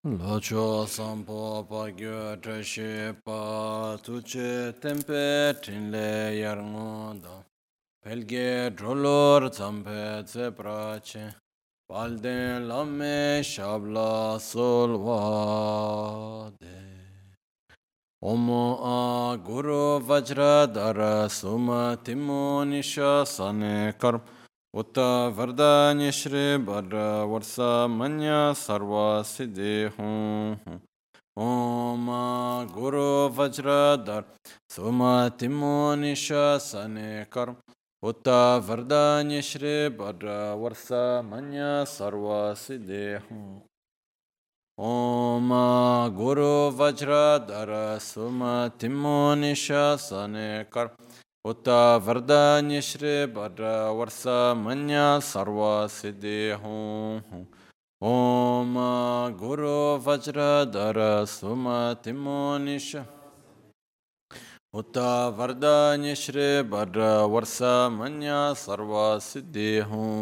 Locho sampo pa gyo trashe pa tuche tempe tinle yarngoda. Pelge drolor zampe tse prache. Palden lamme shabla solvade. Omo a guru vajra dara suma timo nisha sane karm. Utta vardanya shri barra varsa manya sarva siddhi hum. Om Guru Vajradhar Suma Timo Nisha Sane Karm Utta Vardanya Shri Bhadra Varsa Manya Sarva Siddhi Om Guru Vajradhar Suma Timo Nisha Sane Karm Utta Vardanya Shri Bhadra Varsa Manya Sarva Siddhi Om Guru Vajradhara Suma Timo Nisha Utta Vardanya Shri Bhadra Varsa Manya Sarva Siddhi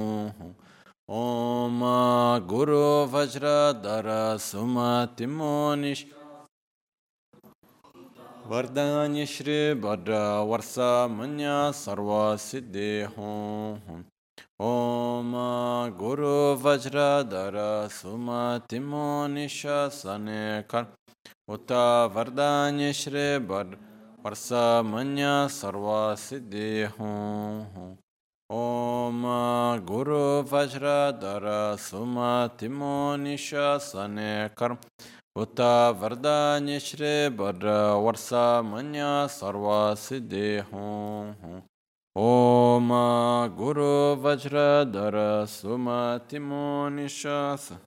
Om Guru Vajradhara Suma Timo Nisha Vardanya Shri Bhadra Varsa Manya Sarva Siddhi Om Guru Vajradhara Suma Timo Nisha Sane Kar Utta Vardanya Shri Varsa Manya Sarva Siddhi Om Guru Vajradhara Suma Timo Nisha Sane Kar Utta Vardanya Shri Varsa Manya Sarva Siddhi Om Guru Vajradhara Suma Timo Nishasa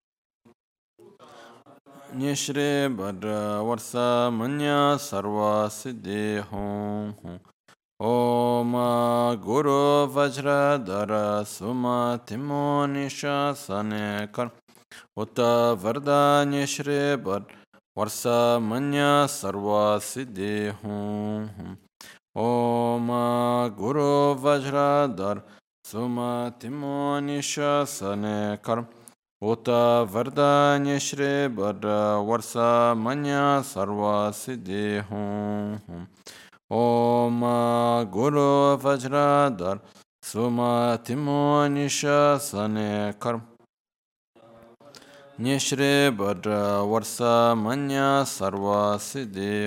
Nishri Bhadra Varsa Manya Sarva Siddhi Om Guru Vajradhara Suma Timo Nishasane Kar Utta Vardanya Shri Varsa Manya Sarva Siddhi Om Guru Vajradhar Suma Timo Nisha Sane Karm Utta Vardanya Shri Varsa Manya Sarva Siddhi Om Guru Vajradhar Suma Timo Nisha Sane Karm Nishri Varsa Manya Sarva Siddhi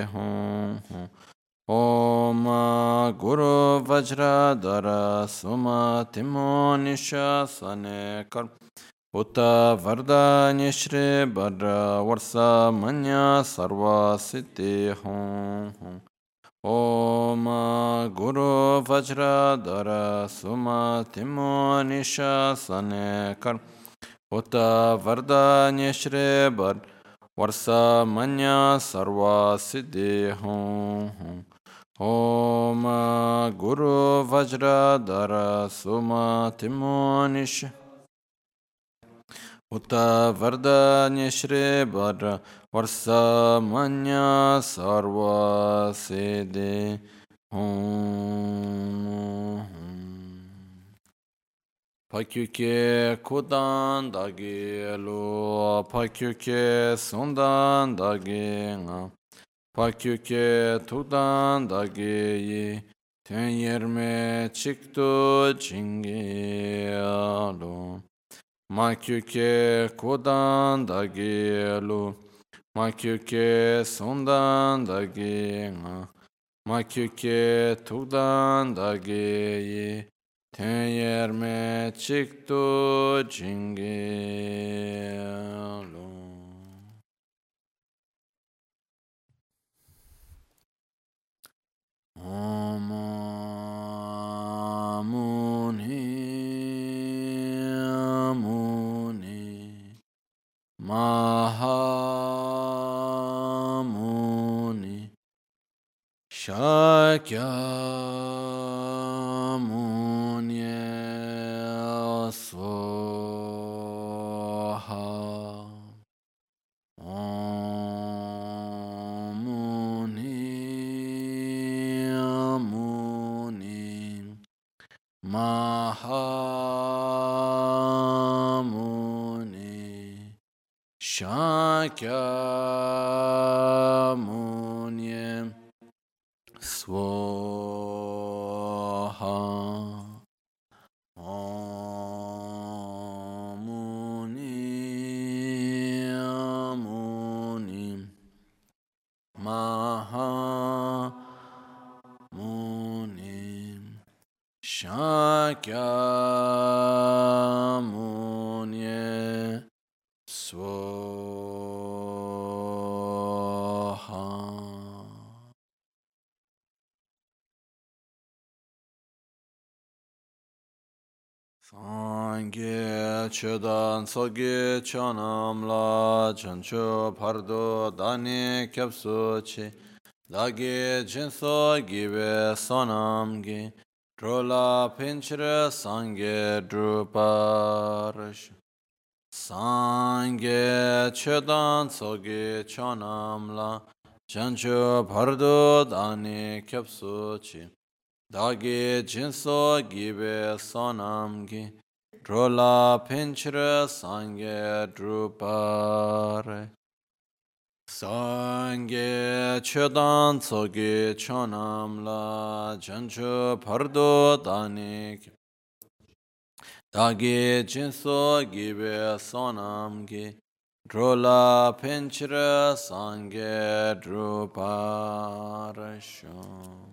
Om Guru Vajradhara Suma Timo Nisha Sane Karm Utta Vardanya Shri Varsa Manya Sarva Siddhi Om Guru Vajradhara Suma Timo Nisha Sane Karm Utta Vardanya Shri Varsa Manya Sarva Siddhi Om Guru Vajradhara Suma Timo Nisha Utta Vardanya Shri Varsa Manya Sarva Siddhi Pakyuke Kudan Dagi Lu Pakyuke Sundan Dagi Nga Pakyuke Tudan Dagi Yi Ten Yerme Chiktu Chingi Alu Makyuke Kudan Dagi Lu Makyuke Sundan Dagi Nga Makyuke Tudan Dagi Yi Ten Yerme Chiktu Chingi Alu Om Muni Muni Mahamuni Shakya Muni Swaha Om Muni Muni Mahamuni Shakya Shakyamuni Swaha Muni Muni Maha Muni Shakyamuni Swaha. Sangye chedan soge chanam la chancho pardo dani kyapsu chi dagi jinso gibe sonam gi drola pinchre sangye druparash. Sangye chedan soge chanam la chancho pardo dani kyapsu chi dagi jinso gibe sonamgi drola pinchre sangye drupare. Sangye chedan tsogi chonam la jancho pardo danik dagi jinso gibe sonamgi drola pinchre sangye drupare shom.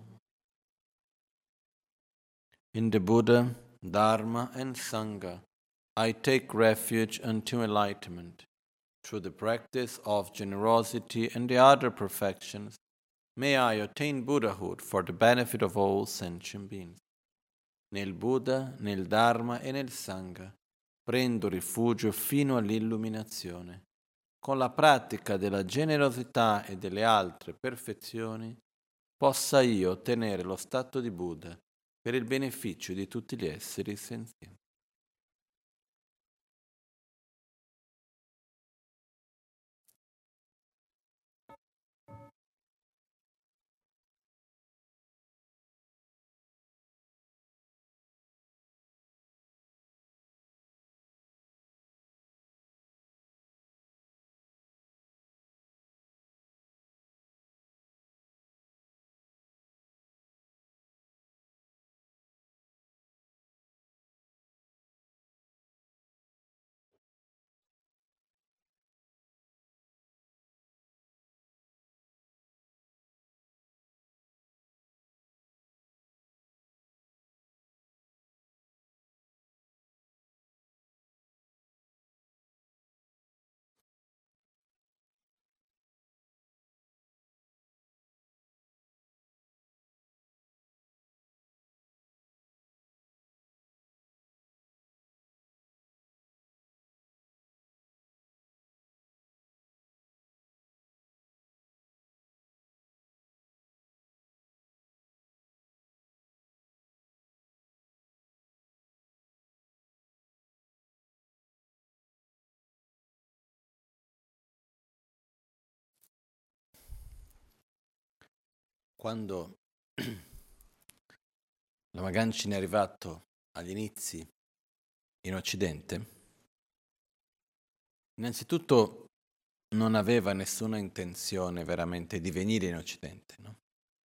In the Buddha, Dharma and Sangha, I take refuge unto enlightenment. Through the practice of generosity and the other perfections, may I attain Buddhahood for the benefit of all sentient beings. Nel Buddha, nel Dharma e nel Sangha prendo rifugio fino all'illuminazione. Con la pratica della generosità e delle altre perfezioni, possa io ottenere lo stato di Buddha per il beneficio di tutti gli esseri senzienti. Quando Lama Ganchen è arrivato agli inizi in Occidente, innanzitutto non aveva nessuna intenzione veramente di venire in Occidente, no?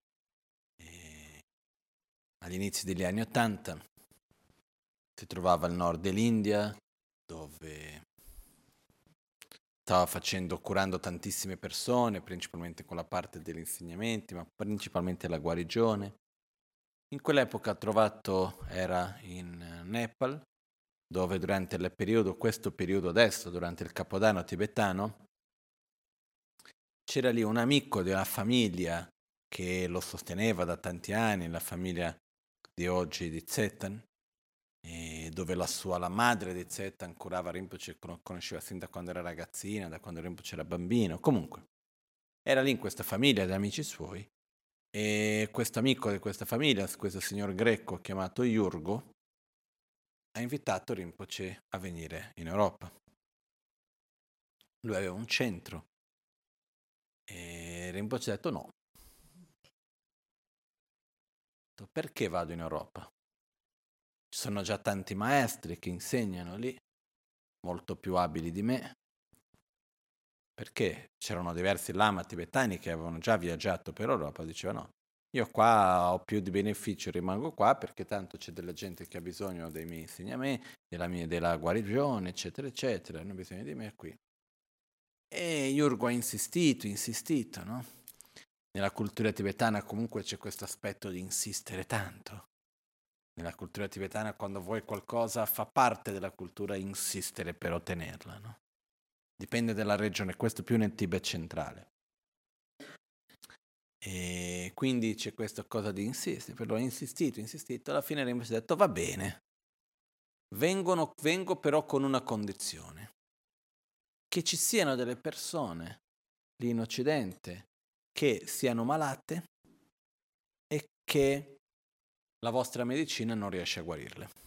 Agli inizi degli anni '80 si trovava al nord dell'India, dove stava curando tantissime persone, principalmente con la parte degli insegnamenti, ma principalmente la guarigione. In quell'epoca era in Nepal, dove durante questo periodo adesso, durante il Capodanno tibetano, c'era lì un amico della famiglia che lo sosteneva da tanti anni, la famiglia di oggi di Tsetan, dove la madre di Tsetan curava Rinpoche, conosceva sin da quando era ragazzina, da quando Rinpoche era bambino, comunque era lì in questa famiglia di amici suoi, e questo amico di questa famiglia, questo signor greco chiamato Iurgo, ha invitato Rinpoche a venire in Europa. Lui aveva un centro e Rinpoche ha detto no. Perché vado in Europa? Ci sono già tanti maestri che insegnano lì, molto più abili di me. perché c'erano diversi lama tibetani che avevano già viaggiato per Europa, dicevano no, io qua ho più di beneficio, rimango qua perché tanto c'è della gente che ha bisogno dei miei insegnamenti, della guarigione, eccetera, eccetera, hanno bisogno di me qui. E Jurgo ha insistito, no? Nella cultura tibetana comunque c'è questo aspetto di insistere tanto. Nella cultura tibetana quando vuoi qualcosa fa parte della cultura insistere per ottenerla, no? Dipende dalla regione, questo più nel Tibet centrale. E quindi c'è questa cosa di insistere, però ho insistito, alla fine Rinpoche ha detto va bene, vengo però con una condizione, che ci siano delle persone lì in Occidente che siano malate e che la vostra medicina non riesce a guarirle. A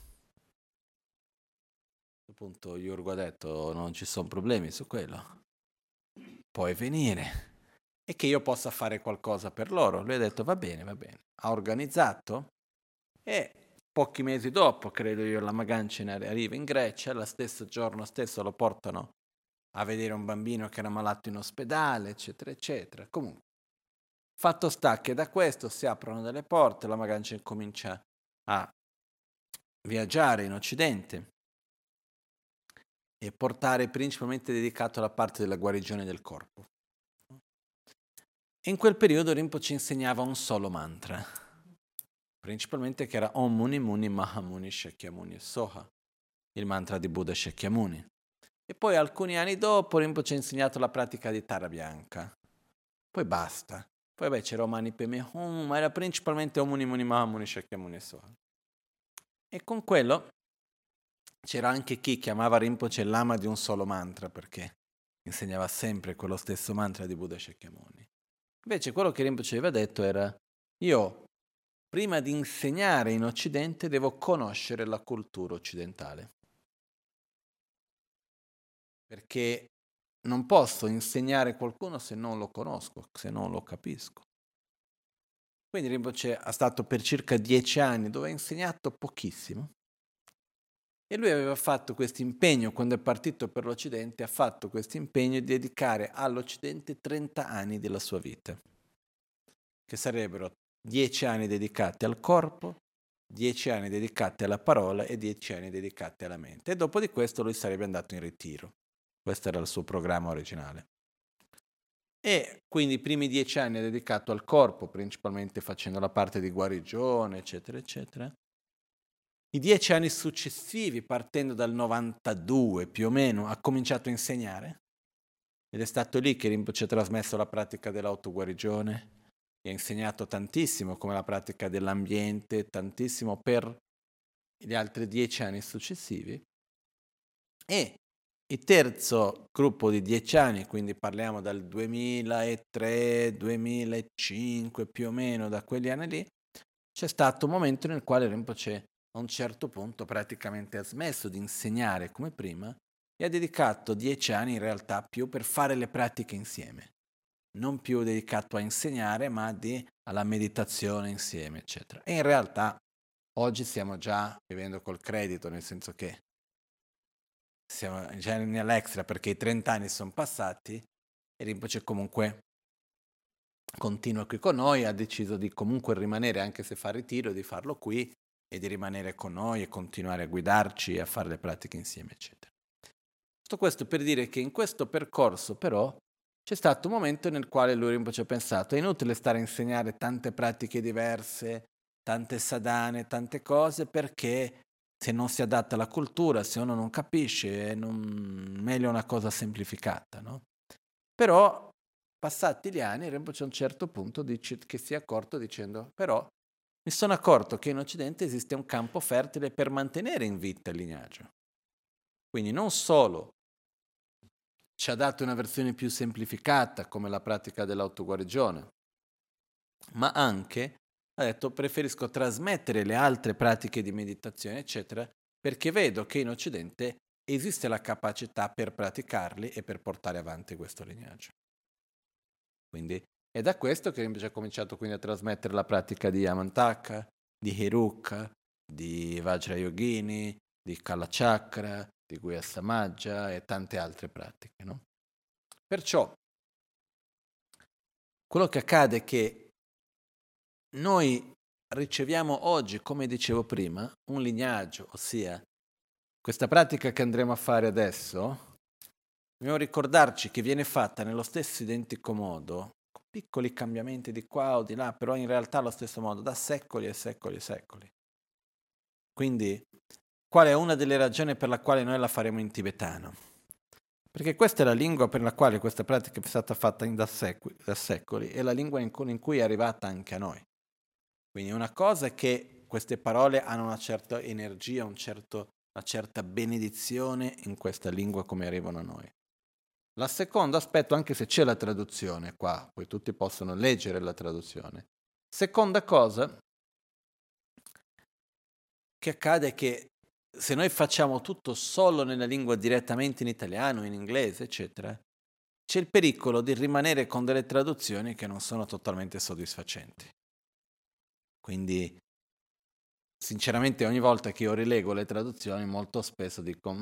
questo punto Jurgo ha detto non ci sono problemi su quello, puoi venire e che io possa fare qualcosa per loro. Lui ha detto va bene, ha organizzato e pochi mesi dopo, credo io, la Magancina arriva in Grecia, lo stesso giorno stesso lo portano a vedere un bambino che era malato in ospedale, eccetera, eccetera. Comunque, fatto sta che da questo si aprono delle porte, la Magancina comincia a viaggiare in Occidente e portare principalmente dedicato alla parte della guarigione del corpo. In quel periodo Rinpoche insegnava un solo mantra, principalmente che era Om Muni Muni Mahamuni Shakyamuni Soha, il mantra di Buddha Shakyamuni. E poi alcuni anni dopo Rinpoche ha insegnato la pratica di Tara Bianca. Poi basta. Poi c'era Omani Peme Hum, ma era principalmente Om Muni Muni Mahamuni Shakyamuni Soha. E con quello c'era anche chi chiamava Rinpoche lama di un solo mantra, perché insegnava sempre quello stesso mantra di Buddha Shakyamuni. Invece quello che Rinpoche aveva detto era io prima di insegnare in Occidente devo conoscere la cultura occidentale, perché non posso insegnare qualcuno se non lo conosco, se non lo capisco. Quindi Rinpoche è stato per circa 10 anni dove ha insegnato pochissimo e lui aveva fatto questo impegno, quando è partito per l'Occidente, ha fatto questo impegno di dedicare all'Occidente 30 anni della sua vita, che sarebbero 10 anni dedicati al corpo, 10 anni dedicati alla parola e 10 anni dedicati alla mente. E dopo di questo lui sarebbe andato in ritiro. Questo era il suo programma originale. E quindi i primi 10 anni è dedicato al corpo, principalmente facendo la parte di guarigione, eccetera, eccetera. I 10 anni successivi, partendo dal 92 più o meno, ha cominciato a insegnare. Ed è stato lì che Rinpoche ha trasmesso la pratica dell'autoguarigione. E ha insegnato tantissimo come la pratica dell'ambiente, tantissimo per gli altri 10 anni successivi. E il terzo gruppo di 10 anni, quindi parliamo dal 2003-2005 più o meno, da quegli anni lì, c'è stato un momento nel quale Rinpoche a un certo punto praticamente ha smesso di insegnare come prima e ha dedicato 10 anni in realtà più per fare le pratiche insieme. Non più dedicato a insegnare, ma alla meditazione insieme, eccetera. E in realtà oggi stiamo già vivendo col credito, nel senso che siamo già nell'extra perché i 30 anni sono passati e Rinpoche comunque continua qui con noi, ha deciso di comunque rimanere, anche se fa ritiro, di farlo qui e di rimanere con noi e continuare a guidarci e a fare le pratiche insieme, eccetera. Tutto questo per dire che in questo percorso però c'è stato un momento nel quale lui Rinpoche ha pensato è inutile stare a insegnare tante pratiche diverse, tante sadhane, tante cose, perché se non si adatta alla cultura, se uno non capisce, meglio una cosa semplificata, no? Però, passati gli anni, Rinpoche a un certo punto che si è accorto dicendo però mi sono accorto che in Occidente esiste un campo fertile per mantenere in vita il lignaggio. Quindi non solo ci ha dato una versione più semplificata come la pratica dell'autoguarigione, ma anche ha detto preferisco trasmettere le altre pratiche di meditazione, eccetera, perché vedo che in Occidente esiste la capacità per praticarli e per portare avanti questo lignaggio. Quindi è da questo che invece ha cominciato quindi a trasmettere la pratica di Amantaka, di Heruka, di Vajrayogini, di Kala Chakra, di Guhya Samajja e tante altre pratiche, no? Perciò, quello che accade è che noi riceviamo oggi, come dicevo prima, un lignaggio, ossia questa pratica che andremo a fare adesso, dobbiamo ricordarci che viene fatta nello stesso identico modo, con piccoli cambiamenti di qua o di là, però in realtà allo stesso modo, da secoli e secoli e secoli. Quindi, qual è una delle ragioni per la quale noi la faremo in tibetano? Perché questa è la lingua per la quale questa pratica è stata fatta da secoli, è la lingua in cui è arrivata anche a noi. Quindi una cosa è che queste parole hanno una certa energia, una certa benedizione in questa lingua come arrivano a noi. La seconda aspetto, anche se c'è la traduzione qua, poi tutti possono leggere la traduzione. Seconda cosa che accade è che se noi facciamo tutto solo nella lingua direttamente in italiano, in inglese, eccetera, c'è il pericolo di rimanere con delle traduzioni che non sono totalmente soddisfacenti. Quindi, sinceramente, ogni volta che io rilego le traduzioni, molto spesso dico,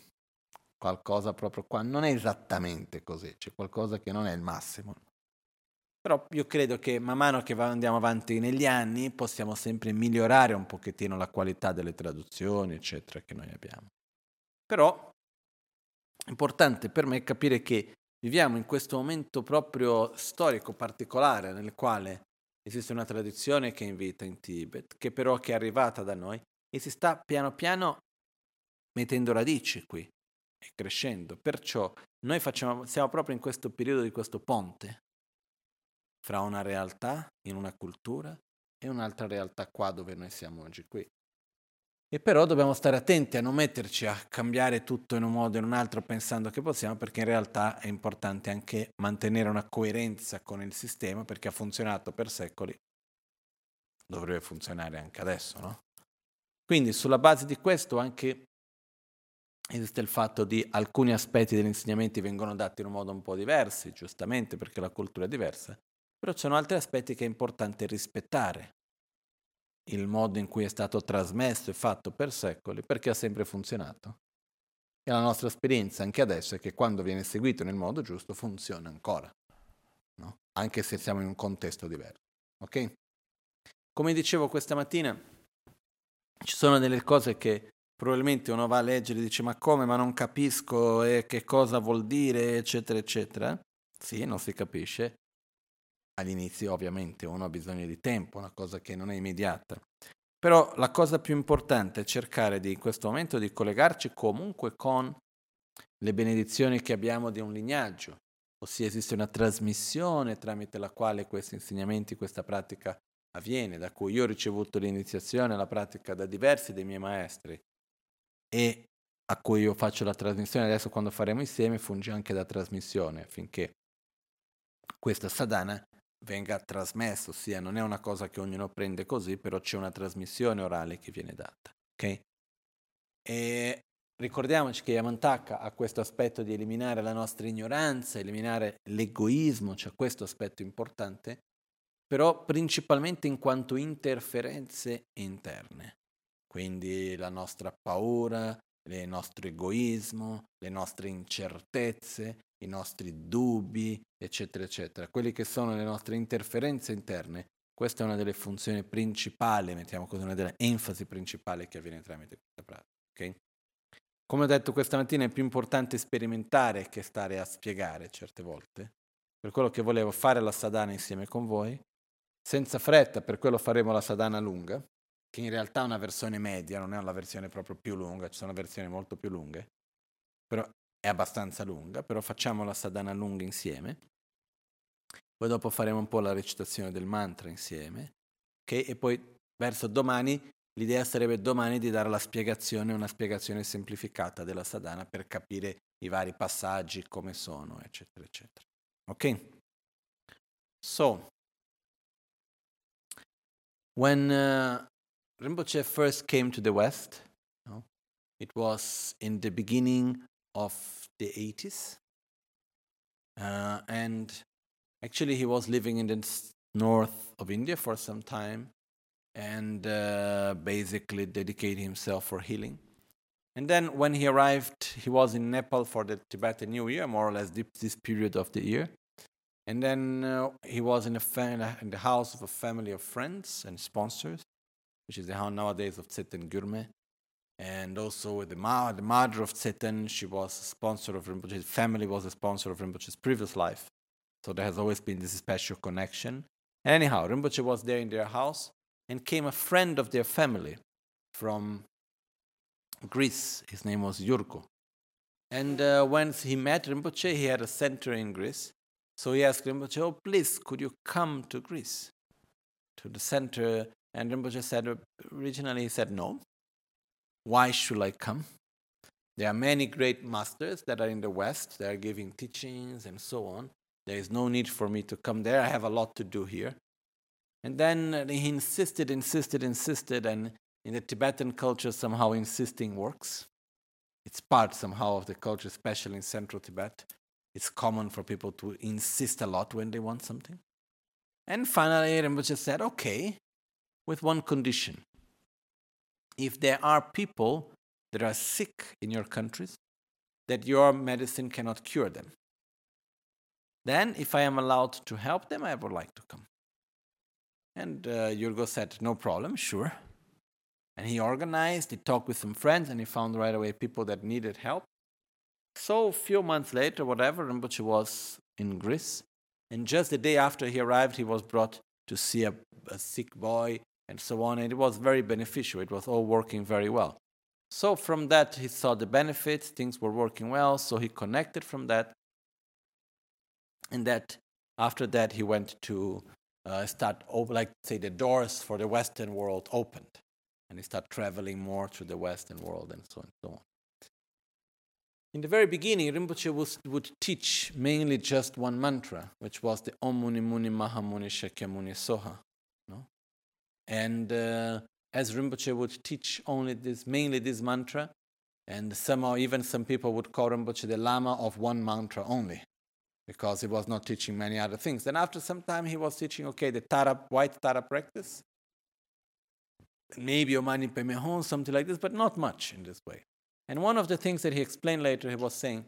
qualcosa proprio qua non è esattamente così, c'è qualcosa che non è il massimo. Però io credo che man mano che andiamo avanti negli anni possiamo sempre migliorare un pochettino la qualità delle traduzioni, eccetera, che noi abbiamo. Però è importante per me capire che viviamo in questo momento proprio storico particolare nel quale esiste una tradizione che invita in Tibet, che però che è arrivata da noi e si sta piano piano mettendo radici qui e crescendo. Perciò noi siamo proprio in questo periodo di questo ponte fra una realtà, in una cultura, e un'altra realtà qua dove noi siamo oggi qui. E però dobbiamo stare attenti a non metterci a cambiare tutto in un modo o in un altro pensando che possiamo, perché in realtà è importante anche mantenere una coerenza con il sistema, perché ha funzionato per secoli, dovrebbe funzionare anche adesso, no? Quindi sulla base di questo anche esiste il fatto di alcuni aspetti degli insegnamenti vengono dati in un modo un po' diverso, giustamente perché la cultura è diversa, però ci sono altri aspetti che è importante rispettare il modo in cui è stato trasmesso e fatto per secoli, perché ha sempre funzionato. E la nostra esperienza anche adesso è che quando viene seguito nel modo giusto funziona ancora, no? Anche se siamo in un contesto diverso. Ok? Come dicevo questa mattina, ci sono delle cose che probabilmente uno va a leggere e dice ma come, ma non capisco che cosa vuol dire, eccetera, eccetera. Sì, non si capisce. All'inizio ovviamente uno ha bisogno di tempo, una cosa che non è immediata. Però la cosa più importante è cercare in questo momento di collegarci comunque con le benedizioni che abbiamo di un lignaggio, ossia esiste una trasmissione tramite la quale questi insegnamenti, questa pratica avviene, da cui io ho ricevuto l'iniziazione alla pratica da diversi dei miei maestri e a cui io faccio la trasmissione adesso quando faremo insieme, funge anche da trasmissione affinché questa sadhana venga trasmessa, ossia non è una cosa che ognuno prende così, però c'è una trasmissione orale che viene data. Okay? E ricordiamoci che Yamantaka ha questo aspetto di eliminare la nostra ignoranza, eliminare l'egoismo, c'è questo aspetto importante, però principalmente in quanto interferenze interne. Quindi la nostra paura, il nostro egoismo, le nostre incertezze, i nostri dubbi, eccetera, eccetera. Quelli che sono le nostre interferenze interne, questa è una delle funzioni principali, mettiamo così, una delle enfasi principali che avviene tramite questa pratica. Okay? Come ho detto questa mattina, è più importante sperimentare che stare a spiegare certe volte. Per quello che volevo fare la sadhana insieme con voi, senza fretta, per quello faremo la sadhana lunga, che in realtà è una versione media, non è una versione proprio più lunga, ci sono versioni molto più lunghe, però è abbastanza lunga, però facciamo la sadhana lunga insieme. Poi dopo faremo un po' la recitazione del mantra insieme, okay? E poi verso domani, l'idea sarebbe domani di dare la spiegazione, una spiegazione semplificata della sadhana per capire i vari passaggi, come sono, eccetera, eccetera. Ok? So, when Rinpoche first came to the West, it was in the beginning of the 80s, and actually he was living in the north of India for some time, and basically dedicated himself for healing. And then when he arrived, he was in Nepal for the Tibetan New Year, more or less this period of the year. And then he was in the house of a family of friends and sponsors, which is the house nowadays of Tsetan Gurme. And also the mother of Tsetan, she was a sponsor of Rinpoche. His family was a sponsor of Rinpoche's previous life. So there has always been this special connection. Anyhow, Rinpoche was there in their house, and came a friend of their family from Greece. His name was Yurko. And when he met Rinpoche, he had a center in Greece. So he asked Rinpoche, oh, please, could you come to Greece, to the center? And Rinpoche said, originally he said, no. Why should I come? There are many great masters that are in the West. They are giving teachings and so on. There is no need for me to come there. I have a lot to do here. And then he insisted, and in the Tibetan culture, somehow insisting works. It's part somehow of the culture, especially in central Tibet. It's common for people to insist a lot when they want something. And finally, Rinpoche said, okay, with one condition. If there are people that are sick in your countries, that your medicine cannot cure them, then if I am allowed to help them, I would like to come. And Yurgo said, no problem, sure. And he organized, he talked with some friends, and he found right away people that needed help. So a few months later, Rinpoche was in Greece. And just the day after he arrived, he was brought to see a sick boy and so on. And it was very beneficial. It was all working very well. So from that, he saw the benefits. Things were working well. So he connected from that. And that after that, he went to start, the doors for the Western world opened. And he started traveling more to the Western world and so on and so on. In the very beginning, Rinpoche would teach mainly just one mantra, which was the Om Muni Muni Maha Muni Shakyamuni Soha. No? And as Rinpoche would teach mainly this mantra, and somehow even some people would call Rinpoche the Lama of one mantra only, because he was not teaching many other things. Then after some time, he was teaching, the white Tara practice, maybe Omani Padme Hum, something like this, but not much in this way. And one of the things that he explained later, he was saying,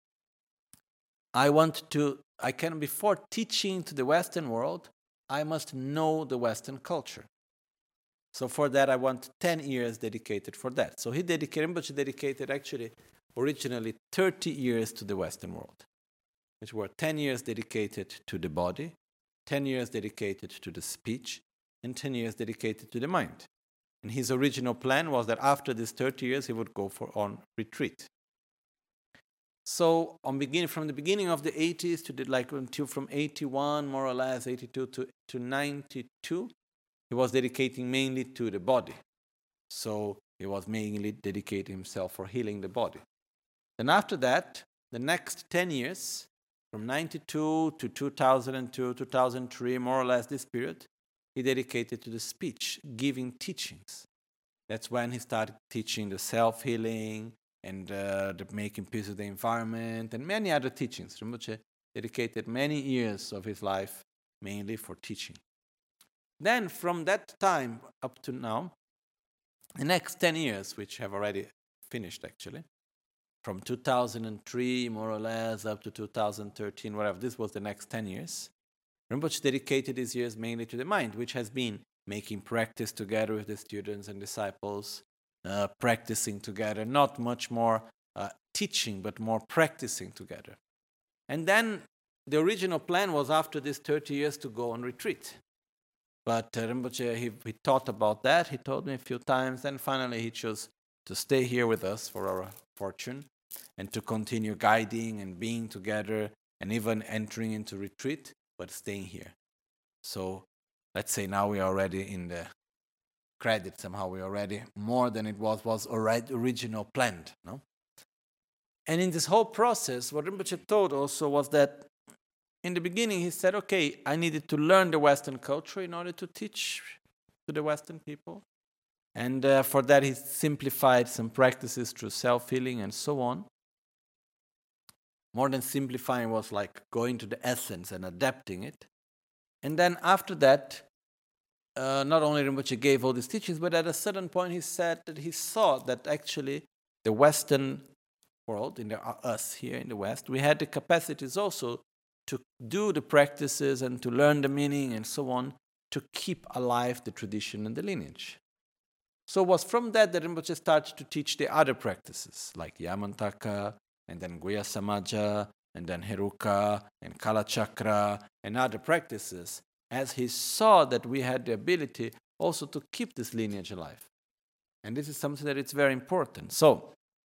before teaching to the Western world, I must know the Western culture. So for that, I want 10 years dedicated for that. So Rinpoche dedicated actually originally 30 years to the Western world, which were 10 years dedicated to the body, 10 years dedicated to the speech, and 10 years dedicated to the mind. And his original plan was that after these 30 years, he would go on retreat. So from the beginning of the 80s until from 81, more or less, 82 to 92, he was dedicating mainly to the body. So he was mainly dedicating himself for healing the body. Then after that, the next 10 years, from 92 to 2002, 2003, more or less this period, he dedicated to the speech, giving teachings. That's when he started teaching the self-healing and the making peace with the environment and many other teachings. Rinpoche dedicated many years of his life mainly for teaching. Then from that time up to now, the next 10 years, which have already finished actually, from 2003 more or less up to 2013, whatever, this was the next 10 years, Rinpoche dedicated these years mainly to the mind, which has been making practice together with the students and disciples, practicing together, not much more teaching, but more practicing together. And then the original plan was after these 30 years to go on retreat. But Rinpoche, he thought about that, he told me a few times, and finally he chose to stay here with us for our fortune and to continue guiding and being together and even entering into retreat, but staying here. So let's say now we are already in the credit, somehow we are already more than it was already original planned. No? And in this whole process, what Rinpoche told also was that in the beginning he said, I needed to learn the Western culture in order to teach to the Western people. And for that he simplified some practices through self-healing and so on. More than simplifying was like going to the essence and adapting it. And then after that, not only Rinpoche gave all these teachings, but at a certain point he said that he saw that actually the Western world, us here in the West, we had the capacities also to do the practices and to learn the meaning and so on, to keep alive the tradition and the lineage. So it was from that Rinpoche started to teach the other practices, like Yamantaka, and then Guya Samaja, and then Heruka, and Kala Chakra, and other practices, as he saw that we had the ability also to keep this lineage alive. And this is something that is very important. So,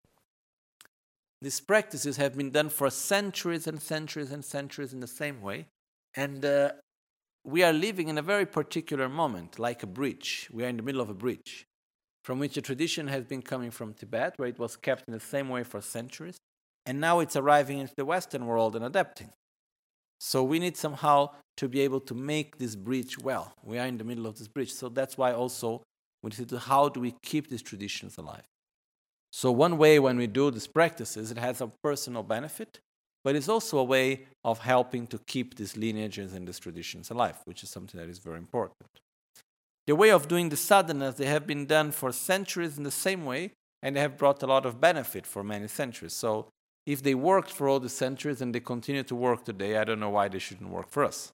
these practices have been done for centuries and centuries and centuries in the same way. And we are living in a very particular moment, like a bridge. We are in the middle of a bridge, from which a tradition has been coming from Tibet, where it was kept in the same way for centuries. And now it's arriving into the Western world and adapting. So we need somehow to be able to make this bridge well. We are in the middle of this bridge. So that's why also we need to, how do we keep these traditions alive? So one way when we do these practices, it has a personal benefit, but it's also a way of helping to keep these lineages and these traditions alive, which is something that is very important. The way of doing the sadhanas, they have been done for centuries in the same way, and they have brought a lot of benefit for many centuries. So if they worked for all the centuries and they continue to work today, I don't know why they shouldn't work for us.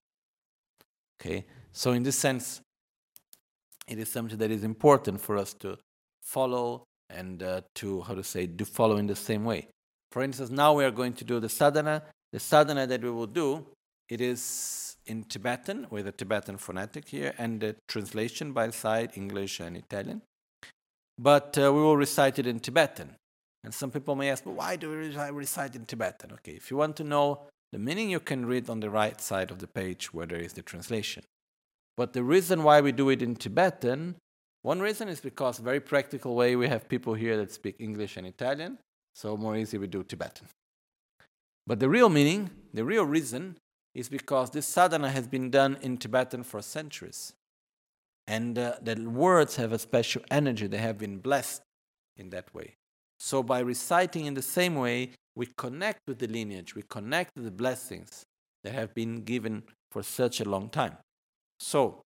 Okay, so in this sense, it is something that is important for us to follow and to follow in the same way. For instance, now we are going to do the sadhana. The sadhana that we will do, it is in Tibetan, with a Tibetan phonetic here, and the translation by side, English and Italian. But we will recite it in Tibetan. And some people may ask, well, why do we recite in Tibetan? Okay, if you want to know the meaning, you can read on the right side of the page where there is the translation. But the reason why we do it in Tibetan, one reason is because, very practical way, we have people here that speak English and Italian, so more easy we do Tibetan. But the real meaning, the real reason, is because this sadhana has been done in Tibetan for centuries. And the words have a special energy, they have been blessed in that way. So by reciting in the same way, we connect with the lineage, we connect with the blessings that have been given for such a long time. So,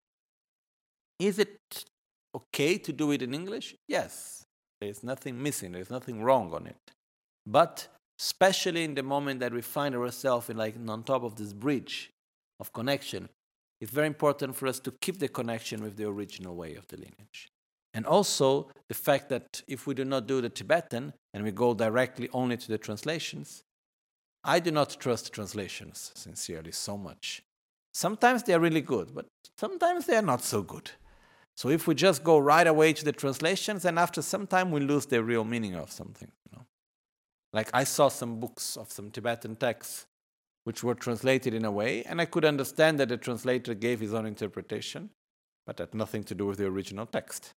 is it okay to do it in English? Yes. There's nothing missing, there's nothing wrong on it. But especially in the moment that we find ourselves on top of this bridge of connection, it's very important for us to keep the connection with the original way of the lineage. And also the fact that if we do not do the Tibetan and we go directly only to the translations, I do not trust translations sincerely so much. Sometimes they are really good, but sometimes they are not so good. So if we just go right away to the translations, then after some time we lose the real meaning of something. Like I saw some books of some Tibetan texts which were translated in a way, and I could understand that the translator gave his own interpretation, but had nothing to do with the original text.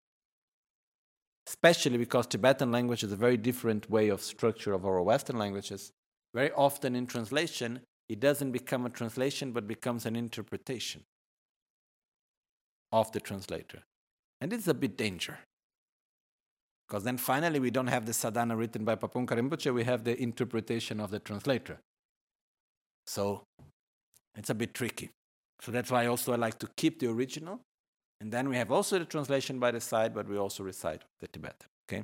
Especially because Tibetan language is a very different way of structure of our Western languages. Very often in translation, it doesn't become a translation, but becomes an interpretation of the translator. And it's a bit danger. Because then finally we don't have the sadhana written by Papunka Rinpoche, we have the interpretation of the translator. So it's a bit tricky. So that's why also I like to keep the original. And then we have also the translation by the side, but we also recite the Tibetan. Okay?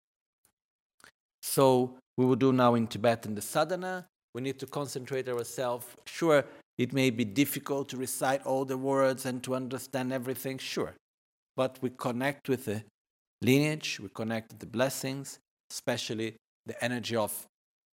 So we will do now in Tibetan the sadhana. We need to concentrate ourselves. Sure, it may be difficult to recite all the words and to understand everything, sure. But we connect with the lineage, we connect with the blessings, especially the energy of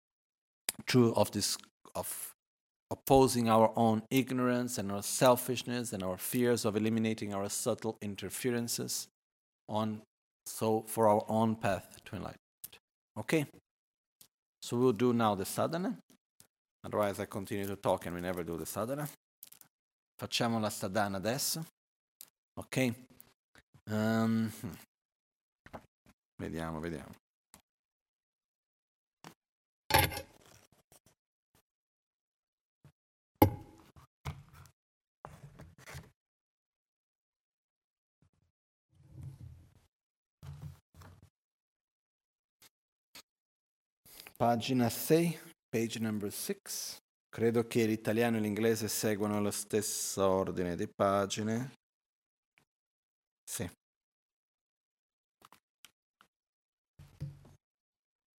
opposing our own ignorance and our selfishness and our fears, of eliminating our subtle interferences for our own path to enlightenment. Okay? So we'll do now the sadhana. Otherwise I continue to talk and we never do the sadhana. Facciamo la sadhana adesso. Ok? Vediamo. Pagina 6, page number 6. Credo che l'italiano e l'inglese seguano lo stesso ordine di pagine. Sì.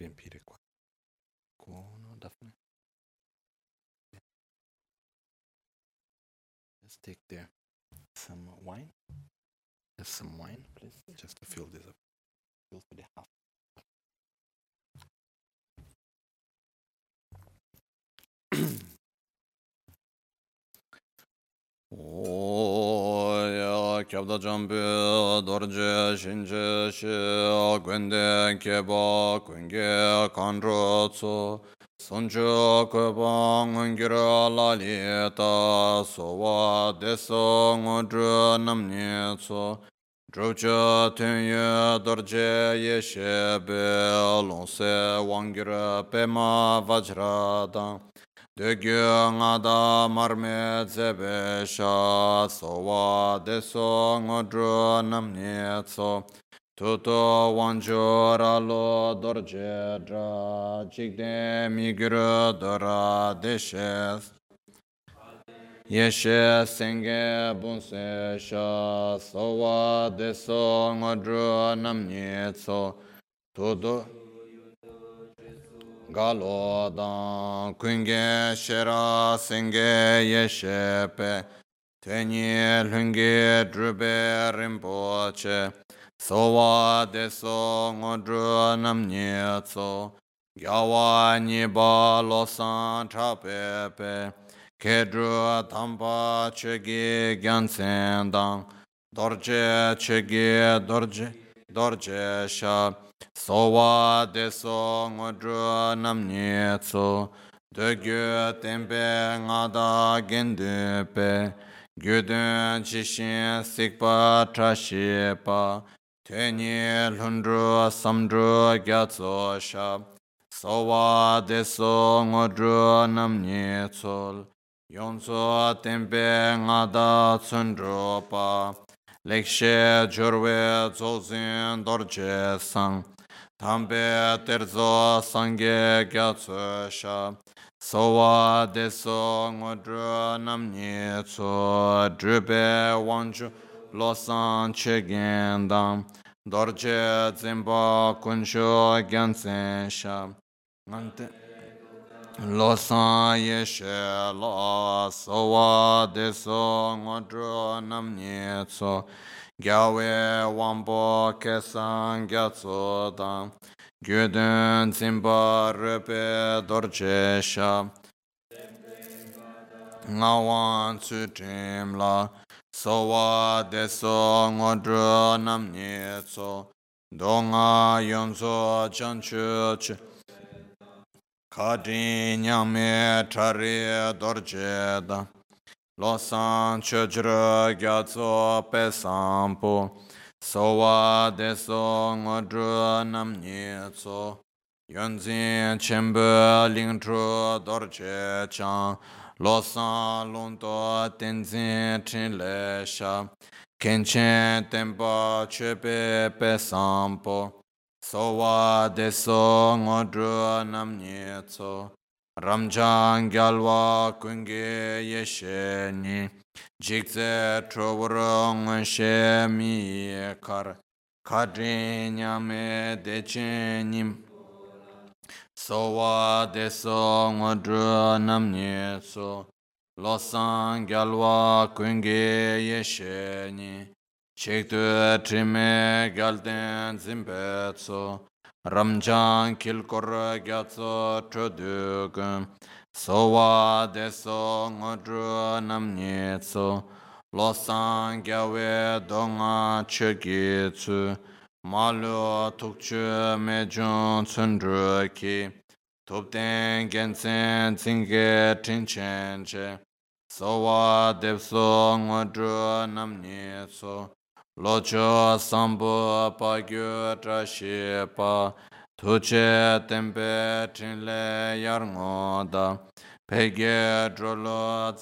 riempire qua. Buono, Daphne. Let's take there some wine. There's some wine, please, just to fill this up. Fill to the half. 오야 겹다 점비 도르제 신제 시 근데 개바 근게 간로소 손주 그방 은기라 라리다 소와 대성 어드 남니소 조저 텐여 도르제 예셰베 론세 왕기라 페마 바즈라다 Degyangada marme zebesha sowa deso ngodro namnetso tuto wanjora lo dorjedra jigde migro dora deshes yeshe senge bunse sha sowa deso ngodro namnetso tuto Galo dan kunge shera senge yeshepe tenye lunge drube rimpoche sowa deso ngodru namnye tso gyawa niba losan trapepe kedru tampa chegi gyansen dan dorje chegi dorje sha Sowa deso ngodru namnetso Degyu tempe ngada gendupe Gyudun chishin sikpa trashipa Tenye lundru samdru gyatso shab Sowa deso ngodru namnetso Yonso tempe ngada tsundru pa Lekshe jurwe zozin dorje sang Tambe terzo sangye gyatso sha Sowa deso ngodru namnye tso Drube wanju losan chegendam Dorje zimba kunsho gyansen sha Losan yeshe la Sowa deso ngodru namnye tso Gyawe wambo kesan gyatso dan Gyudun zimba rupe dorje sha Ngawan tsutrim la Sowa deso ngodru namnye tso Donga yonzo chanchu ch Kadi nyame tari dorje dan Losan chujra gyatso pesampo Sowa deso ngodru namnye tso Yonzin chenpo lingtru dorje chan Losan lunto tenzin chinle sha Kenchen tempa chepe pesampo Sowa deso ngodru namnye tso Ramjang gyalwa kunge yeshe ni Jikze trovorong she mi kar Kadri nyame deche nim Sowa deso ngodru namnye so Losan gyalwa kunge yeshe ni Chiktu trime gyalden zimbe so Ramjang kilkor gyatso chodugun Sowa deso ngodru namnye tso Losan gyawe donga chogitsu Malu tukchu mejun tsundru ki Tupten gensen zinge tinchenche Sowa deso ngodru namnye tso Locho sambo pagyo trashipa Tuche tempe trinle yarngoda Pege drolo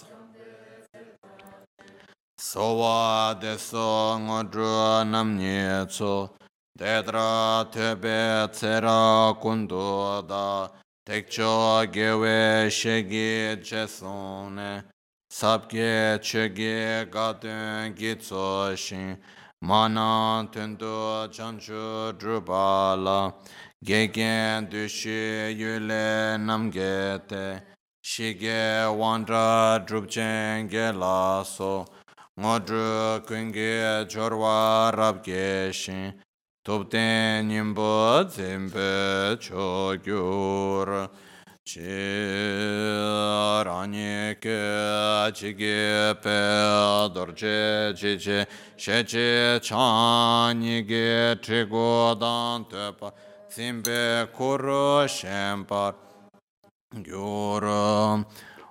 Sowa deso ngodru namnye tso Dedra tebe tsera kundoda Tekcho gewe shegi jesone Sabge chege gadun gitso shin Mana tendo chanchu drupala Gegen Dushi Yule Namgete Shige Wandra Drupchenge Laso Ngodru Kunge Jorwa Rabgeshin Topten Nimbo Zimbe Chogyur Rani Ke Chige Pe Dorje Chiche Sheche Chani Ge Trigo Dan Tepa Simbe Kuro Shempar Gyura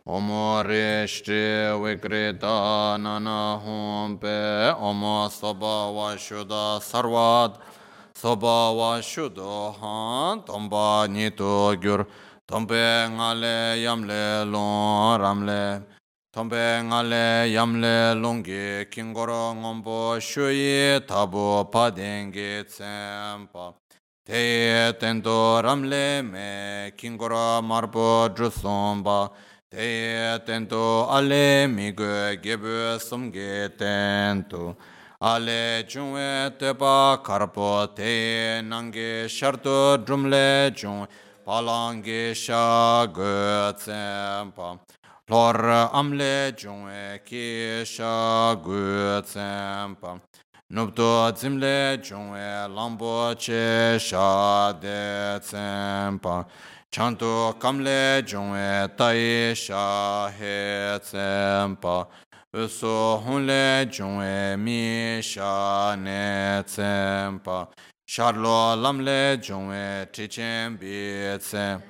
Omorishti Vikrita Nana Humpe Omo Soba Vashuda Sarvad Soba Vashudo Han Tomba Nito Gyur Tombe Ngale Yamle Lon Ramle Tombe Ngale Yamle Longi Kingoro Ngombo Shui Tabu Padengi Tsempa Te tendo ramle me kingora marbo drusomba Te tendo ale migue gebu sumge tento Ale jungwe teba karpo te nange sharto drumle jung Palange sha go tsempa Lor amle jungwe ki sha go tsempa Nubdo zimle jungwe lambo che sha de tsempa Chanto kamle jungwe tai sha he tsempa Uso hunle jungwe mi sha ne tsempa Sharlo lamle jungwe tichen bi tsempa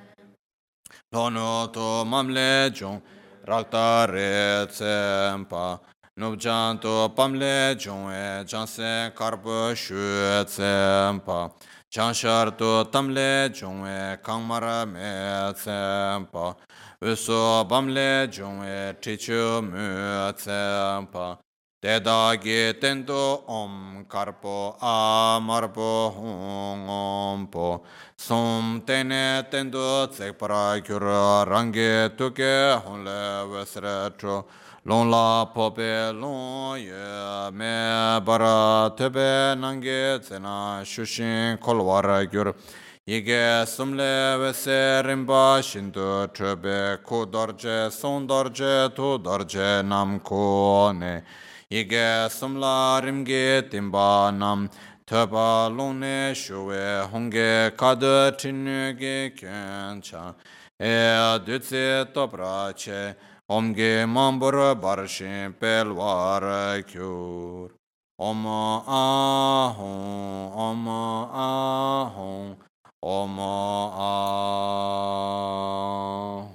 Lono to mamle jung rakta re tsempa Nubjanto pamle jungwe janse karpo shu tsempa Jansharto tamle jungwe kangmara me tsempa Uso bamle jungwe tichu mu tsempa Dedagi tento om karpo amarpo hung ompo Som tene tendo tsekpara kyura rangi tuke hunle vesretro Long la pope long ye me bara tebe nangi tsena shushin kolwara gyur Yige sumle vese rimba shindu trebe ku dorje son dorje tu dorje nam ko ne Yige sumla rimge timba nam Teba lone shuwe honge kada tinuge kyancha E dutse toprache omge mambura barshin pelwara kyur Om ahon, om ahon, om ahon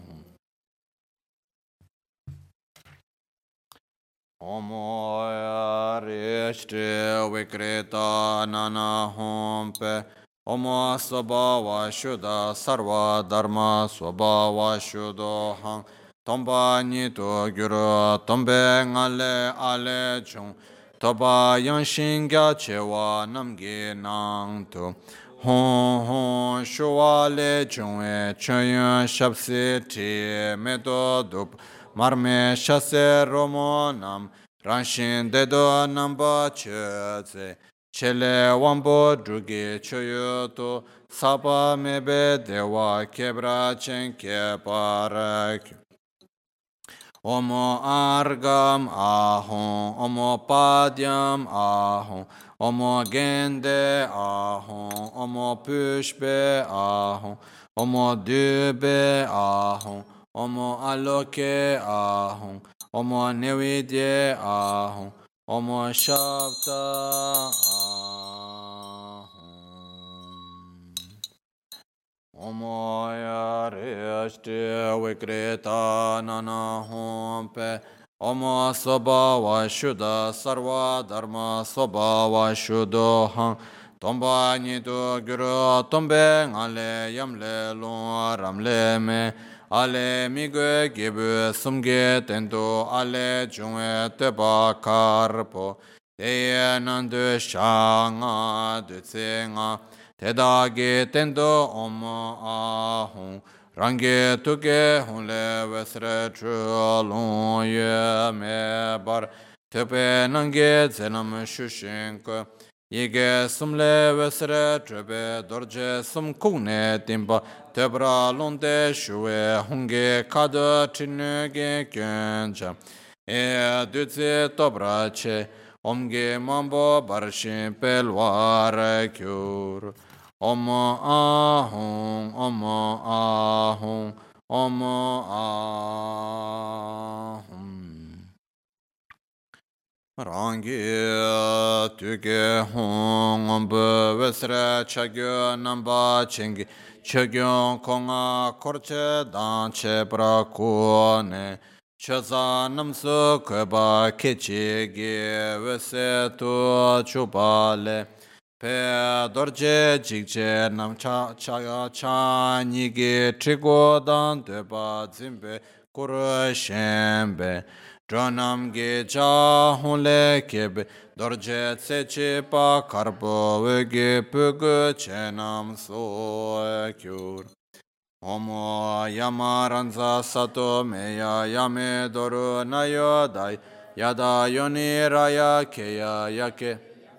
Omo arishte vikrita nana hompe Omo sabhava shuddha sarva dharma svabhava shuddho hang Tomba nito gyuru tombe ngale ale chung Toba yanshin gya chewa namgi nang tu Hon hon shuwa le chungwe chayun shabsi ti medo dup Marme shase romo nam ranshin dedo namba cheze Chele wambo drugi choyoto Sapa mebe dewa kebra chenke parak Omo argam ahon, omo padyam ahon, omo gende ahon, omo pushbe ahon, omo dube ahon, omo aloke ahon, omo nevidye ahon, omo shabda ahon. Omo yarishti vikrita nana hompe Omo sabhava shuddha sarva dharma sabhava shuddho hang Tomba nido gyuru tombe ngale yamle lung ramle me Ale migwe gibu sumge tendo ale jungwe teba karpo Teye nandu shanga dutse nga Tedagi tendo omo ahon Rangi tuke hunle vesre chulun ye me bar Tepe nange zenam shushinko Yige sumle vesre trebe dorje sum kugne timba tebra londe shuwe hunge kada trinuge gyönja. Dutse tobra che omge mambo barshin pelwar kyur. Om ahung, om ahung, om ahung. Rangi tuge hong ombu vesre chagyo namba chingi chagyo konga korche danche pra kuone chaza namsu kweba kechi gi vese tu chupale pe dorje jikche nam cha nigi trigo dan deba zimbe kuru shenbe Dranam ge cha hunle kebe dorje tseche pa karpo vege pugu chenam so kyur. Omo yamaranza sato meya yame doru nayo dai yada yoni raya keya yake.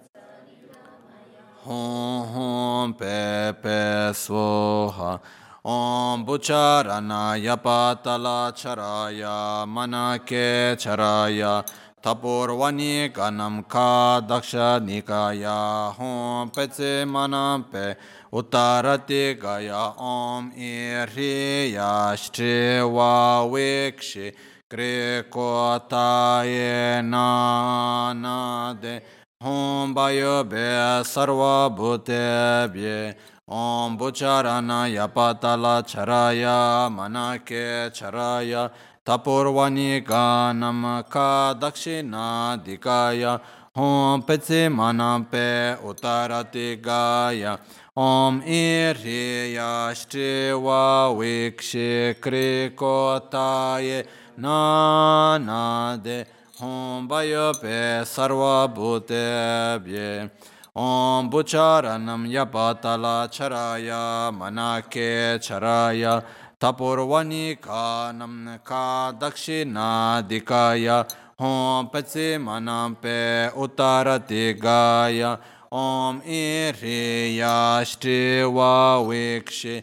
Hon hon pe pe svoha. Om Bucharana Yapatala Charaya Manake Charaya Tapurvani Ganam Ka Daksha Nikaya Hom Petse Manampe Uttarati Gaya Om Iriya Shtriva Vikshi Greko Taye Nanade Hom Bayo Be Sarva Bhute Bye Om Bucharana Yapatala Charaya Manake Charaya Tapurvani Ganam Ka Dakshina Dikaya Om Petsi Manampe Uttarati Gaya Om Iriya Shtriva Vikshi Krikotaye Nanade Om Bayope Sarva Bhutebhye Om Bucharanam Yapatala Charaya Manake Charaya Tapurvani Kanam Ka Dakshina Dikaya Om Petsi Manampe Uttarati Gaya Om Iriya Shtriva Vikshi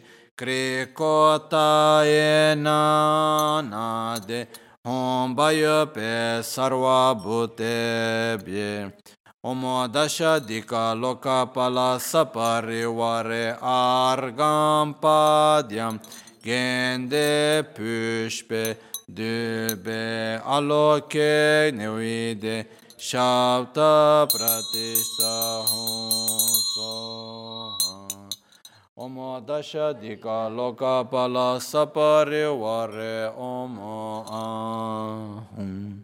Krikotaye Nanade Om Bayope Sarva Bhutebhye Om Dasha Dika Lokapala Saparivare Argam Padyam Gende Pushpe Dube Aloke Nevide Shavta Pratishtha Soha Om Dasha Dika Lokapala Saparivare Om Ahum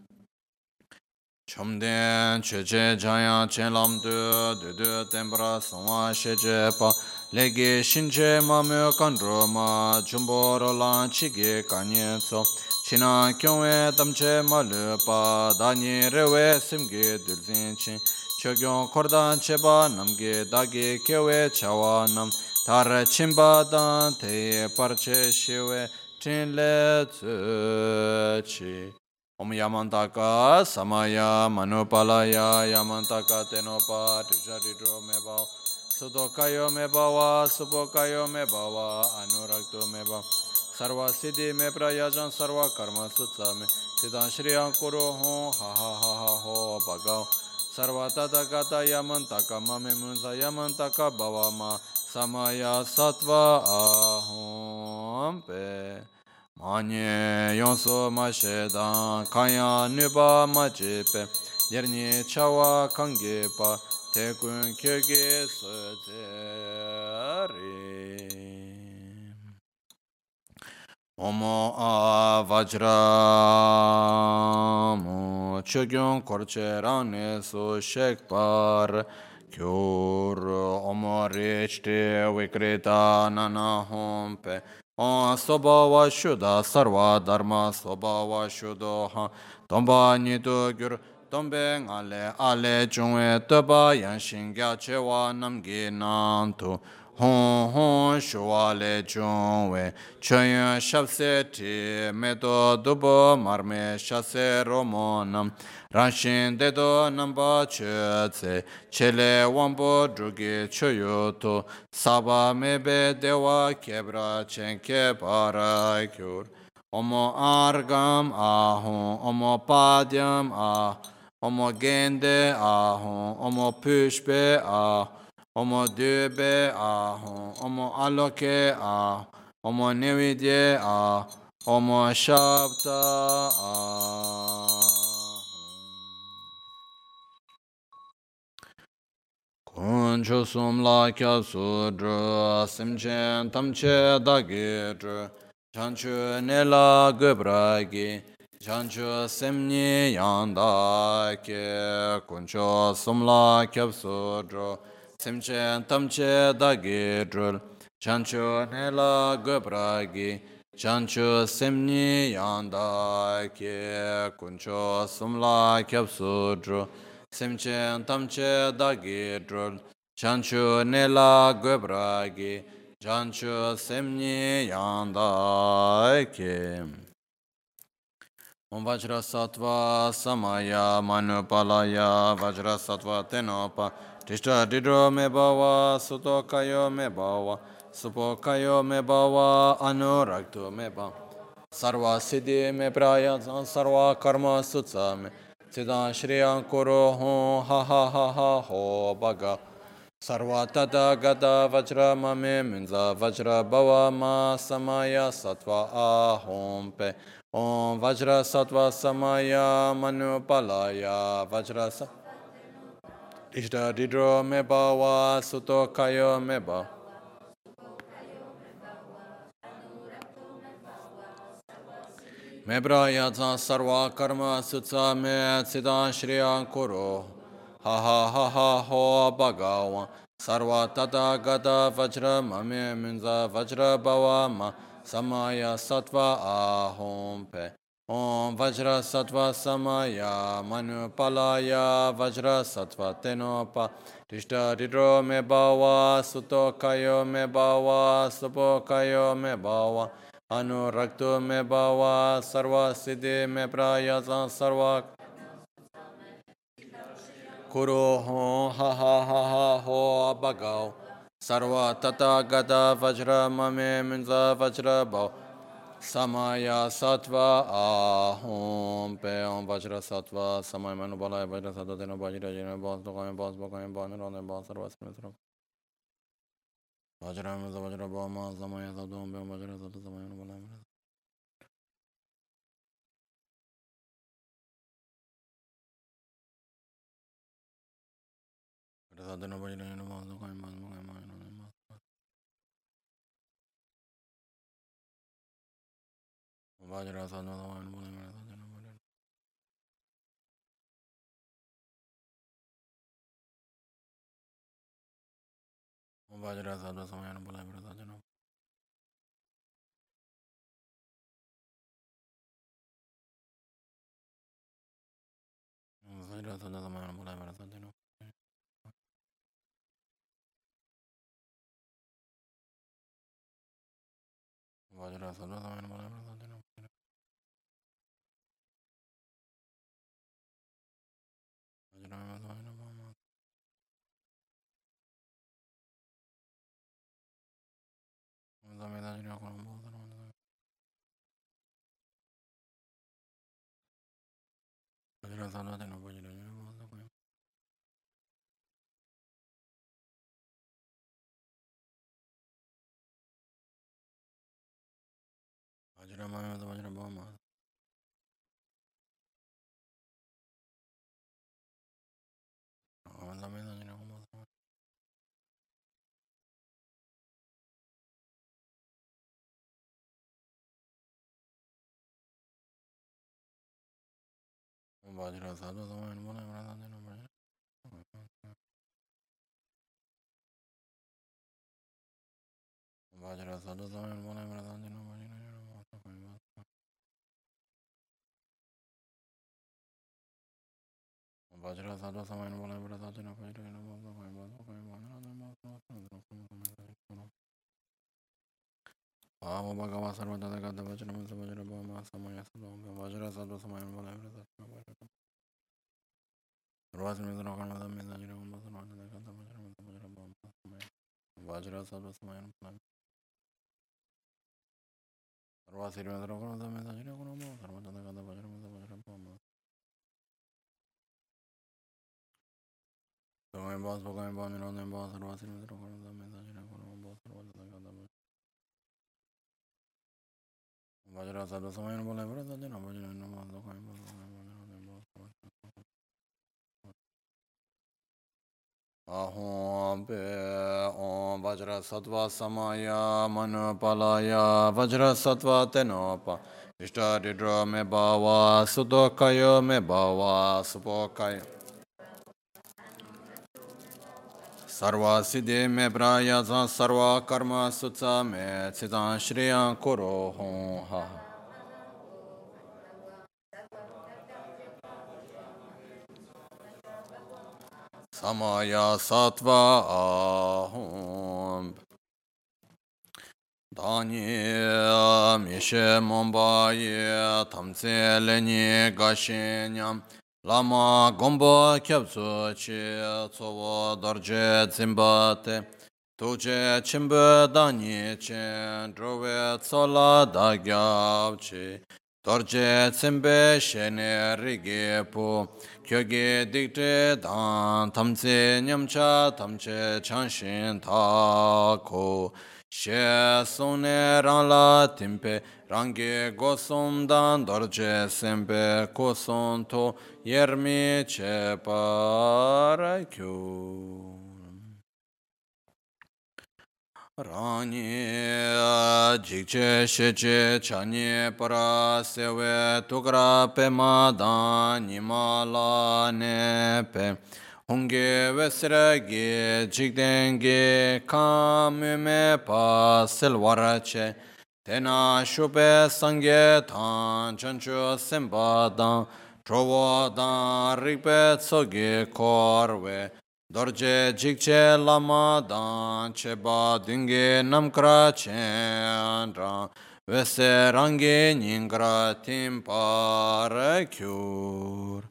Chomden cheche jaya chelam du tembra songwa sheche pa lege shinche mame kandro ma jumboro lan chige kanye tso china kyongwe tamche malu pa danyi rewe simge dulzin chin chogyon kordan cheba namge dagi kewe chawa nam tar chimba dan teye parche shiwe chinle tsu Om Yamantaka Samaya Manupalaya Yamantaka Tenopa Tisharidro Meba Sudokayo Mebawa Subokayo Mebawa Anurakto Meba Sarva Siddhi Me Prayajan Sarva Karma Sutsame Siddhan Shriyan Kuru Hon Ha Ha Ha Ha Ho Bhagav Sarva Tathagata Yamantaka Mame Munza Yamantaka Bhavama Samaya Sattva Ahom Pe Manye yonso ma shedan kanya nuba ma jepe derni chawa kange pa tekun kyege sojeri Omo a vajramu chogyon korche rane so shekpar kyur omo rechte vikrita nana hompe O Sobhava Shuddha Sarva Dharma Sobhava Shuddha Tomba Nidu Gyur Tombe Ngale Ale Chungwe Toba Yanshin Gya Chewa Namgi Nantu Hon Hon shuwa le chungwe, choyun shabse ti, meto dubo marme shase romonam, ranshin dedo namba chötse, chele wambo drugi choyoto, saba mebe dewa kebra chenke para kyur. Omo argam ahon, omo padyam ah, omo gende ahon, omo pushpe ah, omo döbe ahon, omo aloke ah, omo nevidye ah, omo shabta ah. Kuncho sumla kya sudra, simchen tamche dagidra, chanchu nela gubragi, chanchu simni yandake, kuncho sumla kya sudra, simchen tamche dagidra, chanchu nela gubragi, chanchu simni yandake, kuncho sumla kya sudra, simchen tamche dagi drul, chanchu nela gubragi, chanchu simni yandake. Om Vajra Sattva Samaya Manupalaya Vajra Sattva Tenopa Tishta Didro Me Bhava Suto Kayo Me Bhava Supo Kayo Me Bhava Anurakto Me Bhava Sarva Siddhi Me Praya Sarva Karma Sutsa Me Siddha Shriya Kuro Ho Ha Ha Ha Ha Ho Bhaga Sarva Tata Gata Vajra Mame Minza Vajra Bhava Ma Samaya Sattva Ahom Pe Om Vajra Sattva Samaya Manupalaya Vajra Ishta Didro Me Bhava Suto Kayo Me Bhava Me Brayata Sarva Karma Sutsa Me Siddha Shriya Kuro Ha Ha Ha Ha Ho Bhagavan Sarva Tata Gata Vajra Mame Minza Vajra Bhava Ma Samaya Sattva Ahom Pe Om Vajra Sattva Samaya Manupalaya Vajra Sattva Tenopa Tishta Didro Me Bhava Suto Kayo Me Bhava Supo Kayo Me Bhava Anurakto Me Bhava Sarva Siddhi Me Prayasa Sarva Kuro Ho Ha Ha Ha Ha Ho Bhagav Sarva Tata Gata Vajra Mame Minza Vajra Bhav Samaya Sattva Ahom Pe Om Vajra Sattva Samaya Manupalaya Vajra Sattva Teno Vajra Jina Bhas Dokame Bhas Bokame Bhas Nirvana Bhas Sarva Siddhi Sarva Vajra Minza Vajra Bhav Ma Samaya Sattva Om Pe Om Vajra Sattva Samaya Manupalaya Vajra Sattva Teno Vajra Jina Bhas Dokame Bhas Bokame Bhas Nirvana Bhas Vajra Sattva Samaya Manupalaya Vajra Sattva Samaya Manupalaya Vajra Sattva Samaya Manupalaya Vajra Sattva Samaya Manupalaya Amo Bhagava Sarvada Gata Vajra Masa Vajra Bhama Samaya Sadhanga Vajra Sadhu Samaya Valavra Sattva Sarvasi Mitra Karmada Mizajira Gamba Sarvada Gata Vajra Masa Vajra Bhama Samaya Vajra Sadhu Samaya Valavra Sarvasi Mitra Karmada Mizajira Gamba Sarvada Gata Vajra Masa Vajra Bhama Samaya Bhas Bhagaya Bhani Rana Bhas Sarvasi Mitra Karmada Mizajira Gamba Sarvada Gata Vajra Sadhu Samaya Valavra Sattva Vajra Nama Dokaya Ahom Pe Om Vajra Sattva Samaya Manupalaya Vajra Sattva Tenopa Ishtadidra Me Bhava Sudokaya Me Bhava Supokaya Sarva Siddhi Me Prayasa Sarva Karma Sutsa Me Citan Shriya Kuro Hum Ha Samaya Sattva Ahom Dani Mishe Mombaye Tamse Leni Gashenyam Lama Gomba Kyabsu Chi Tsovo Dorje Zimbate Tuje Chimbe Dani Chen Drove Tsola Dagyabchi Dorje Zimbe Shene Rigepu Kyoge Dikte Dan Tamse Nyamcha Tamche Chanshin Tako She Sone Ranla Timpe Rangi Gosum Dan Dorje Sempe Koson To Yermi Che Parakyu Rani Jikche Sheche Chani Para Sewe Tukra Pema Dan Nimala Nepe Hunge Vesragi Jikdengi Kamume Pa Silwarache Tena Shupe Sange Tan Chanchu Simba Dan Trovo Dan Rikpe Tsogi Korwe Dorje Jikche Lama Dan Cheba Dunge Namkra Chendra Vese Rangi Ningra Timpara Kyur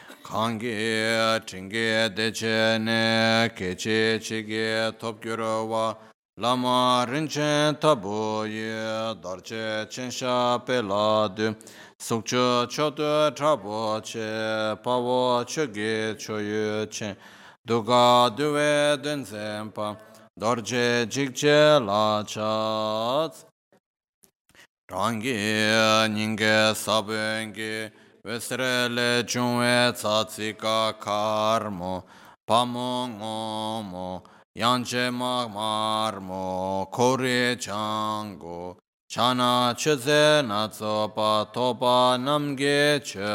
Kange Chinge Dechene Keche Chige Topkyurawa Lama Rinchen Taboye Dorje Chensha Peladu Sukcho Chodo Trabo Che Pavo Choge Choye Chen Duga Duve Denzempa Dorje Jikche La Chat Rangi Ninge Sabengi Vesrele Junwe Tsatsika Karmo Pamongomo Yanche Magmarmo Kore Chango Chana Cheze Natsopa Topa Namge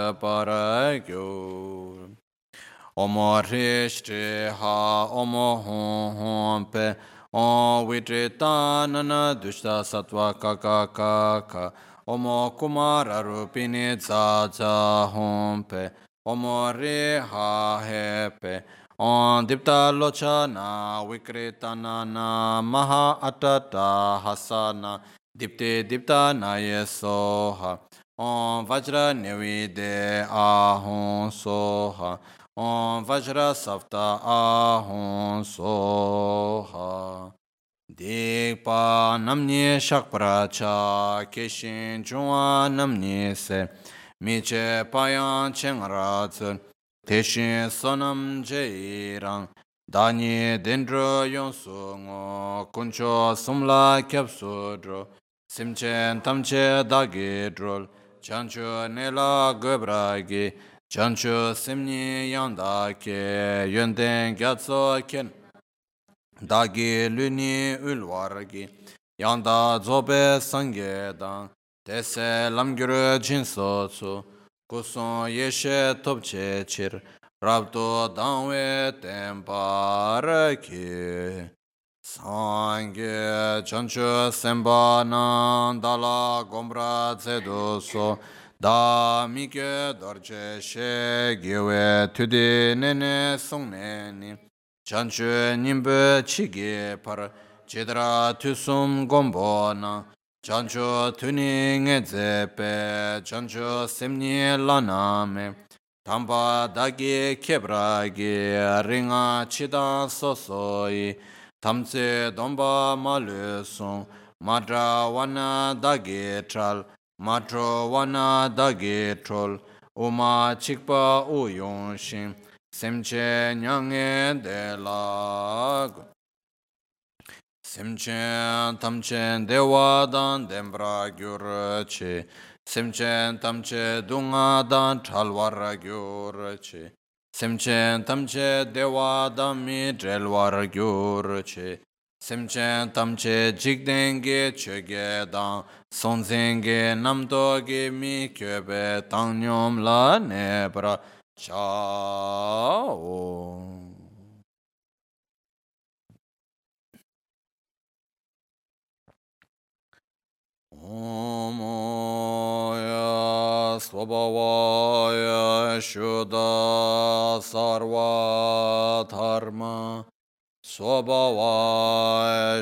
Cheparagyo Omo Rishti Ha Omo Hon Pe Om Vitrita Nana Dushta Sattva Kaka Kaka Omo Kumara Rupini Tsa Hon Pe Omo Riha Hepe Om Dipta Lochana Vikrita Nana Maha Atata Hasana Dipti Dipta Naye Soha Om Vajra Nevide Ahon Soha Om Vajra Savta Ahon Soha Dikpa Namni Shakpracha Keshin Chunwa Namni Se Miche Payan Chengratsun Teshin Sonam Jairang Dani Dendro Yonsu Ngo Kuncho Sumla Kyapsudro Simchen Tamche Dagidrol Chancho Nela Gobragi Chancho Simni Yanda Ke Yönden Gyatso Ken Dagi Luni Ulwargi Yanda Zobe Sangedan Tese Lamgyuru Jinsotsu Kuson Yeshe Topche Chir Rabdo Danwe Temparaki Sangye Chancho Semba Nandala Gombra Zedoso Da Mike Dorje She Gyewe Tudi Nene Songneni Chancho Nimbe Chige Par Chidra Tusum Gombona Chancho tuning e zepe, chancho semni laname, tamba dagi kebragi, ringa chida sosoi, tamse domba malusung, madra wana dagi tral, matro wana dagi trol, uma chikpa uyonshin, semche nyange de lag. Simchen tamchen dewa dan dembra gyurchi. Simchen tamche dunga dan chalwar gyurchi. Simchen tamche dewa dan mi drelwar gyurchi. Simchen tamche jigdenge chöge dan sonzenge namdoge mi köbe tangnyom la nebra chao. Omaya Swabhavaya Shuddha Sarva Dharma Swabhavaya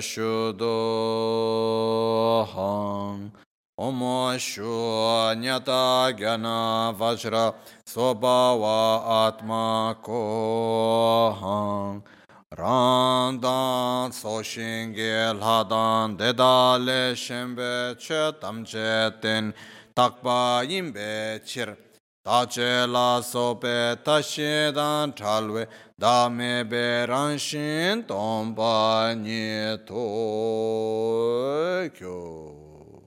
Shuddhaham Om Shunyata Gyana Vajra Swabhava Atma Koham Randan Soshinge Ladan Dedale Shembe Che Tamche Ten Takpa Yimbe Chir Tache La Sope Tashidan Chalwe Dame Beranshin Tompa Nieto Kyo.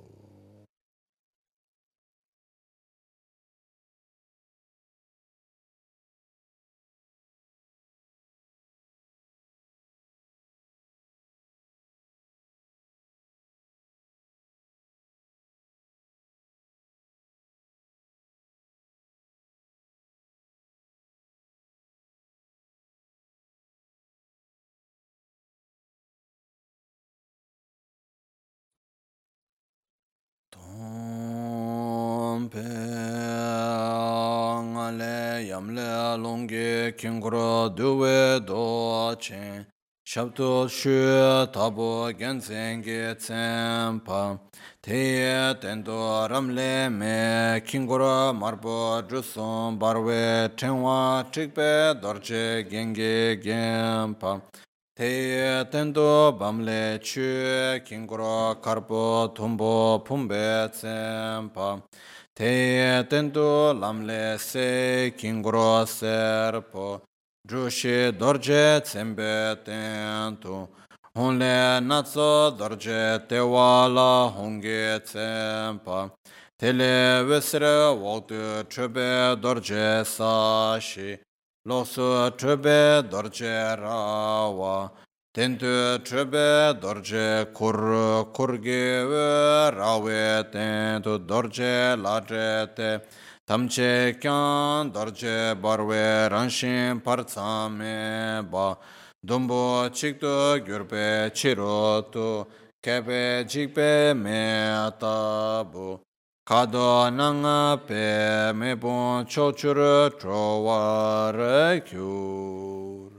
Ngale yamle longge kingro duwe do chen shabdo shu tabo genzenge tsempa te tendo ramle me kingro marbo druson barwe tenwa chikpe dorje genge gempa te tendo bamle chu kingro karpo tumbo pumbe tsempa te tendo lamle se kingro serpo drushi dorje tsembe tento honle natso dorje te wala honge tsempa tele vesre wogdu chube dorje sashi losu chube dorje rawa tentu chube dorje kurge rawe tentu dorje lajete tamche kyan dorje barwe ranshin partsame ba dumbo chikto gyurpe chirotu kepe chikpe me tabu Kado nanga pe mebon chochur trowar kyur.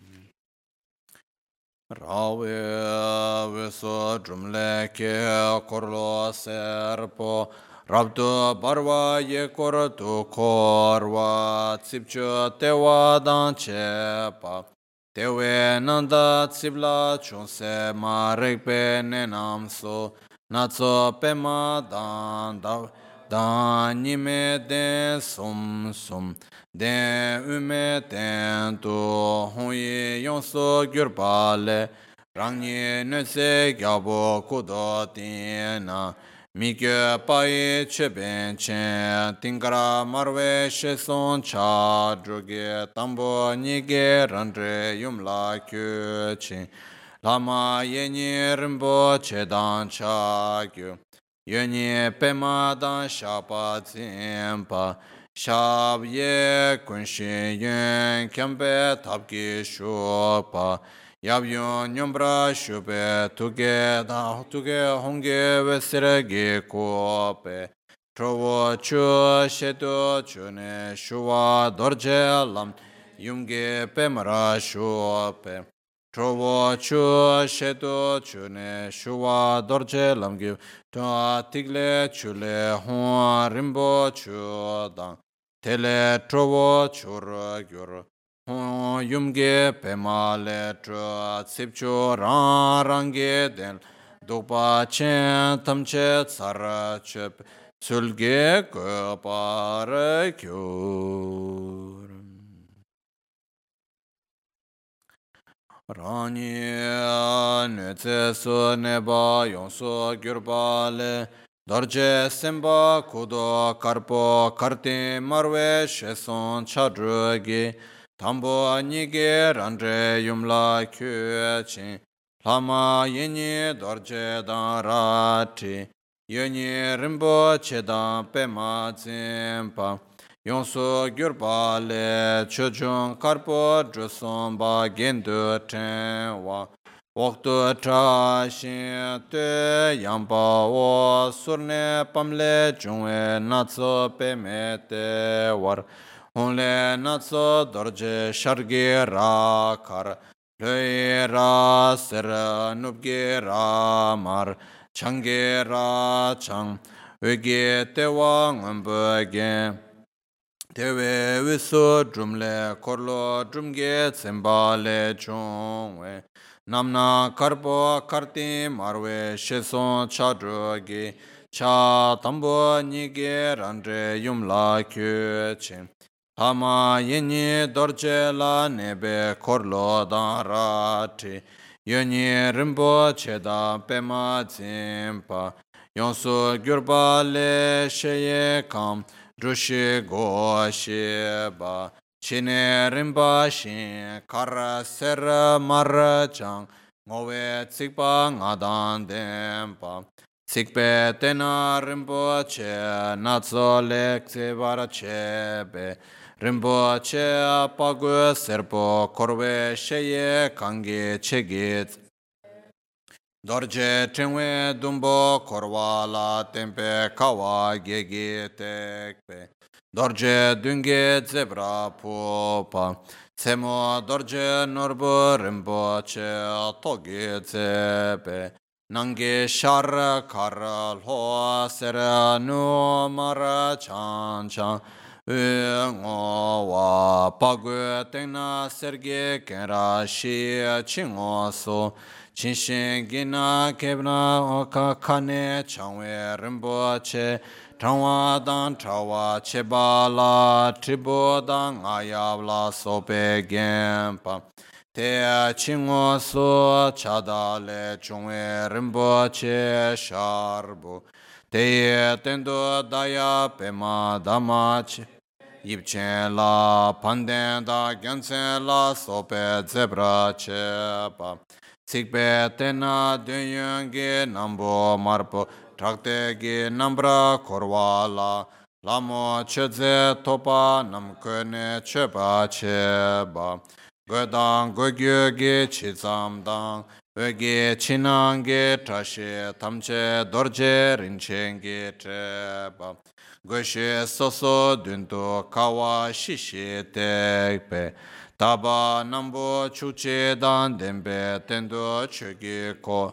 Rawe veso drumle ke korlo serpo rabdo barwa ye korto korwa tsipcho tewa dan chepa. Tewe nanda tsibla chunse ma rekpe nenamso natso pema dan nime den sum sum den ume den tu honye yonso gyurpale rangye nese gyabo kudo tina mikyo paye cheben chen tingara marwe sheson cha druge tambo nige randre yumla kyo chen lama yenye rimbo chedan cha kyo Yönye pema dan shapa tsimpa shab ye kunshi yön kempe tapki shopa yab yön nyombra shupe tuge honge vesiregi kope trovo chu sheto chune shuwa dorje lam yunge pemara shope trovo chu shedo chune shuwa dorje lamgi to tigle chule hon rimbo chu dang tele trovo chur gyur hon yumge pemale tro sipcho rang range den dopa chen tamche tsara chep sulge ko par kyur Rani nötse su neba yonsu gyurba le dorje semba kudo karpo karti marwe sheson chadrugi tambo anige randre yumla kyuechin lama yini dorje dan rati yoni rimbo chedan pema zimpa Yonsu gyurpa le chochung karpo druson ba gendu tenwa Waktu tra shin te yamba wo surne pamle chungwe natso peme te war Hunle natso dorje shargi ra kar Loi ra ser nubgi ra mar Changi ra chang Ugi te wa ngambu gen Tewe viso drumle korlo drumge tsembale chungwe Namna karpo karti marwe sheson chadrogi Cha tambo nige randre yumla kyuche Hama yeni dorje la nebe korlo dan rati Yoni rimbo cheda pema zimpa Yonsu gyurba le sheye kam Drushi go sheba Chine rimba shin kara ser mar chang Ngowe tsikpa ngadan dempa Tsikpe tena rimbo che Natso lek tsivara chebe Rimbo che pagu serpo Korwe sheye kangi chegit Dorje tenwe dumbo korwa la tempe kawa gege tekpe. Dorje dunge zebra popa. Semo dorje norbo rimbo che toge zepe. Nange shar kar lo sera no mara chan chan. Ngo wa pagu tena serge kenra shi chingo so. Chinshin gina kebna oka kane changwe rimbo che Changwa dan chawa cheba la tribo dan ayab la sope genpa Te chingo so chada le chungwe rimbo che sharbu Te tendo daya pema dama che Yipchen la panden da gyansen la sope zebra chepa Sikpe tena dunyongi nambo marpo Trakte gi nambra korwa la Lamo chedze topa namkone chepa cheba Godang gogyo gi chizam dang Ogi chinangi trashi tamche dorje rinchengi cheba Goshe soso dunto kawa shishi tekpe Taba nambo chuche dan dembe tendo chogi ko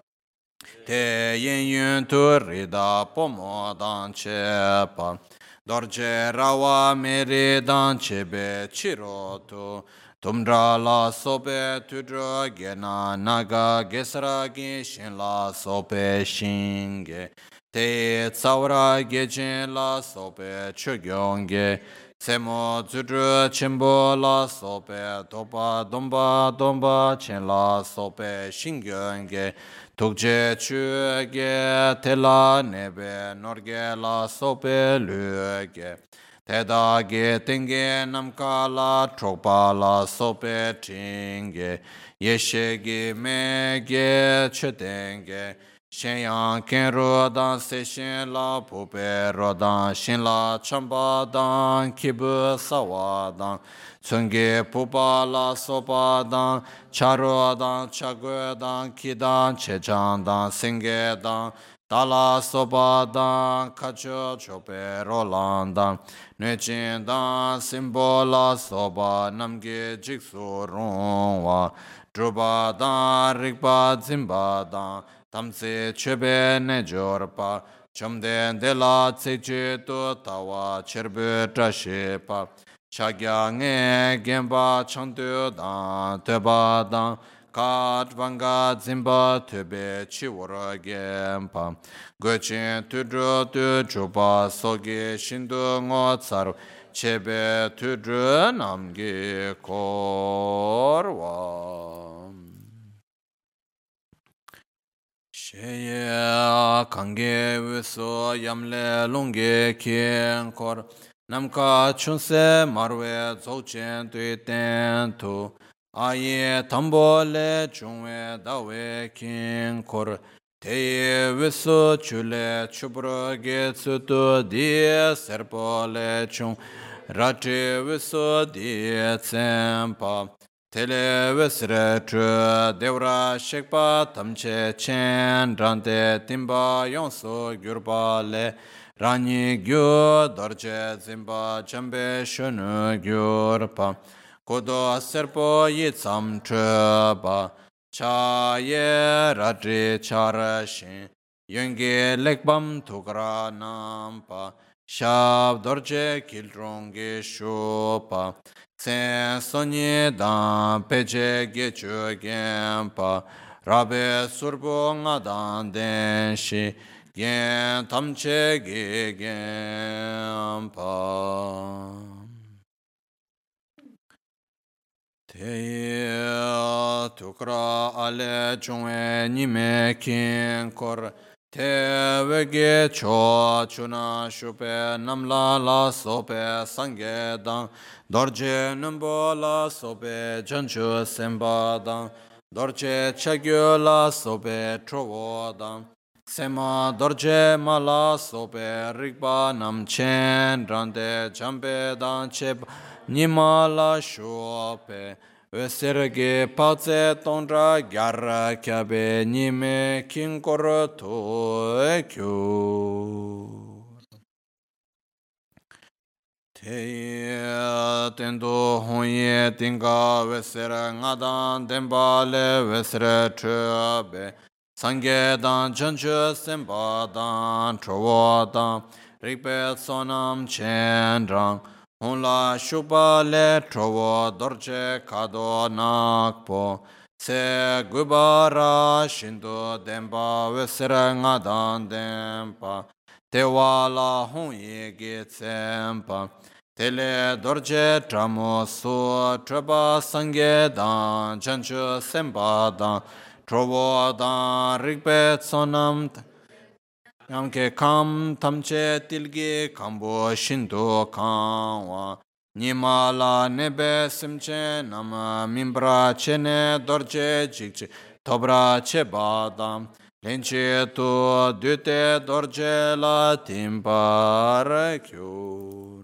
Te yen yun tu rida pomo dan chepa Dorje rawa meri dan chebe chirotu Tumdra la sope tudra gena naga gesra gishin la sope shinge Te tsawra gechen la sope chogyonge Semo zudru chimbo la sope topa domba domba chen la sope shingyonge Tukje chuge tela nebe norge la sope luge Teda ge tenge namka la tropa la sope tinge Yeshe ge me ge chetenge Shenyang ken rodan se shen la pupe rodan shen la chamba dan kibu sawa dan Tsunge pupa la sopa dan charo dan chagwe dan kidan chechan dan senge dan Dala sopa dan kacho chope rolan dan Nuchin dan simbo la sopa namge jiksu rongwa Drupa dan rikpa zimba dan tamse chebe ne jorpa chamden de la tseche to tawa cherbe trashepa chagya nge gemba chantu dan teba dan kat vanga zimba tebe chiwara gempa gochen tudro tu chupa soge shindu ngo tsar chebe tudro namge korwa Sheye kange viso yamle lungge kien kor namka chunse marwe dzogchen tui ten tu aye tambo le chungwe dawe kien kor teye viso chule chubro ge tsutu die serpo le chung rati viso die tsempa Tele vesre chu devra shekpa tamche chen rante timba yonso gyurpa le rani gyu dorje zimba chambe shunu gyurpa kodo serpo yitsam chupa cha ye ratri chara shin yungi lekbam tukra nampa shab dorje kilrongi shupa Sen sonye dan peche gechu genpa Rabe surbo nga dan den shi Gen tamche ge genpa Teye tukra ale chungwe nime kin kor Te vege cho chuna shupe namla la sope sangye dang Dorje numbo la sope chanchu semba dang Dorje chagyo la sope trovo dang Sema dorje ma la sope rikpa nam chen rande champe dang chep Nima la shupe Veserge pace tondra gyara kyabe nime kinkor to ekyo. Teye tendo honye tinga vesera ngadan dembale vesera chöbe Sangye dan chanchu semba dan chowo dan rikpe sonam chendrang Honla shupa le trovo dorje kado nakpo Se gubara shindu demba vesera ngadan dempa Tewa la honye ge tsempa Tele dorje tramo su treba sangye dan chanchu semba dan Trovo dan rikpe sonam Yamke kam tamche tilgi kambo shindu kanwa Nimala nebe simche nama mimbra chene dorje jikche Tobra che badam lenche tu dute dorje la timpar kyur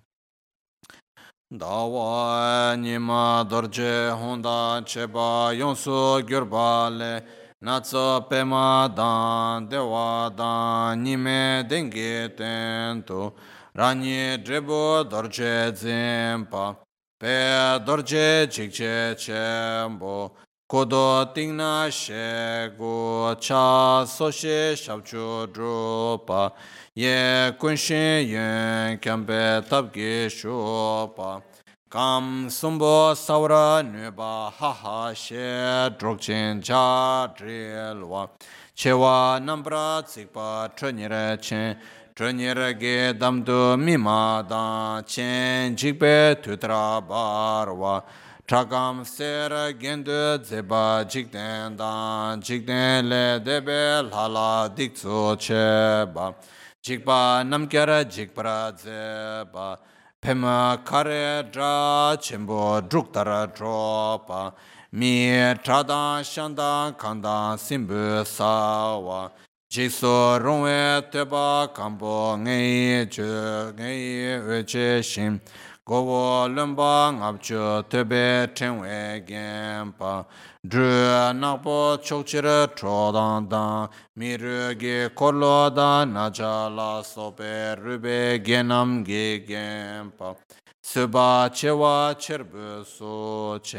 Dawa nima dorje honda cheba yonsu gyurbale Natso pema dan dewa dan nime dengi tento Rani drebo dorje zempa Pe dorje chikche chembo Kodo tingna shego cha soshe shabcho dropa Ye kunshin yun kyambe tabgi shopa Kam sumbo saura nuba haha she drogchen cha drilwa Chewa nambra tsikpa tronyere chen Tronyere ge damdu mima dan chen jikpe tutra barwa Chagam sera gendu zeba jikden dan Jikden le debe lala diktsu cheba Jikpa namkyara jikpara zeba Pema kare dra chimbo druktara dropa Mi tradan shandan kandan simbu sawa Jikso rungwe teba kambo ngayi chu ngayi uche shim Gowo lumba ngabchu tebe tenwe genpa Dru nakpo chokchira chodan dan Miru ge korlo dan naja la sope rube genam ge genpa Suba chewa cherbu so chen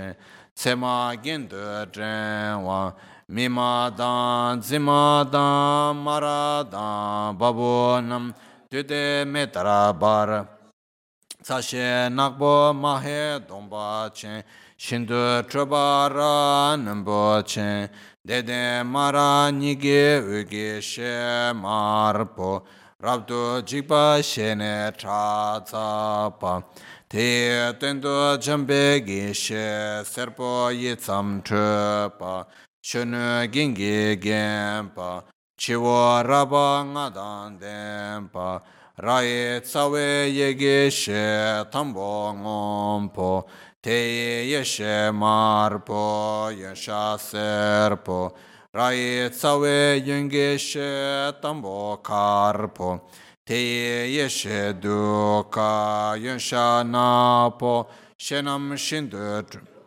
Sema Gindu Drenwa Mima Dan Zima Dan Mara Dan Babu Nam Tude Metara Bar Sashe Nakbo Mahe Domba Chen Shindu Trabara Nambo Chen Dede Mara Nige Uge She Marpo Rabdu Jigba Shene Chazapa Te Tendo Jambe Gishe Serpo Yitsam Trepa Shunu Gingi Gempa Chiwa Raba Ngadan Dempa Rai Tsawe Yege She Tambo Ngompo Te Yeshe Marpo Yesha Serpo Rai Tsawe Yenge She Tambo Karpo Te Yeshe Duka Yesha Napo Shenam Shindu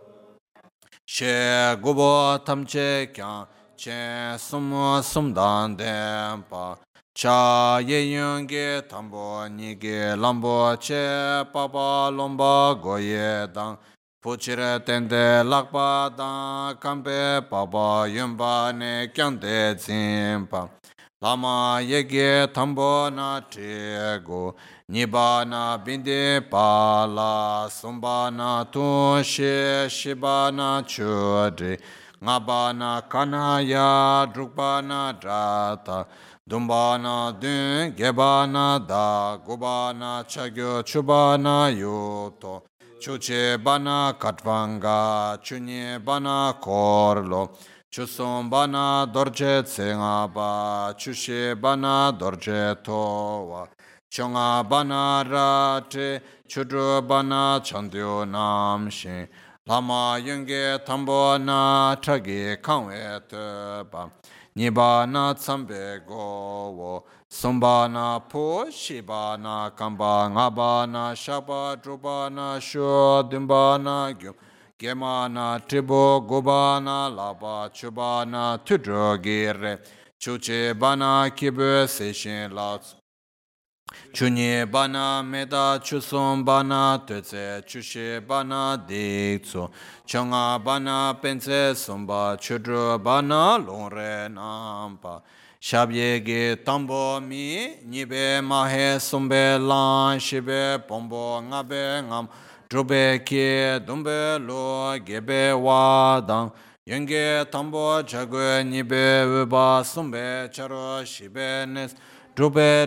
She Gubo Tamche Kyan Che Sumu Sumdan Dempa Cha Ye Yunge Tambo Nige Lambo Che Papa Lomba Goye Dang Puchire Tende Lakpa Dang Kampe Papa Yumba Ne Kyante Zimpa Lama Yege Tambo Na Trigo Niba Na Bindi Pala Sumba Na Tunshi Shiba Na Chudri Ngaba Na Kanaya Drukba Na Drata Dumbana Dun Gebana Da Gubana Chagyo Chubana Yuto Chuche Bana Katvanga Chunye Bana Korlo Chusum Bana Dorje Tsengaba Chushe Bana Dorje Towa Chonga Bana Rate Chudru Bana Chandyo Namshin Lama Yunge Tambo Na Chagi Kangwe Teba Niba na tsambe go Sumba na po Shiba na kamba Ngaba na shaba Druba na shu Dimba na gyum Gema na tribo Guba na laba Chuba na tudro gire Chuche bana kibu Seshin lats Chunye bana meda chusum bana teze chushe bana dikso chonga bana pense sumba chudru bana longre nampa shabye ge tambo mi nibe mahe sumbe lan shibe pombo ngabe ngam drube ki dumbe lo gebe wadang yenge tambo chagwe nibe uba sumbe charo shibe nes Drube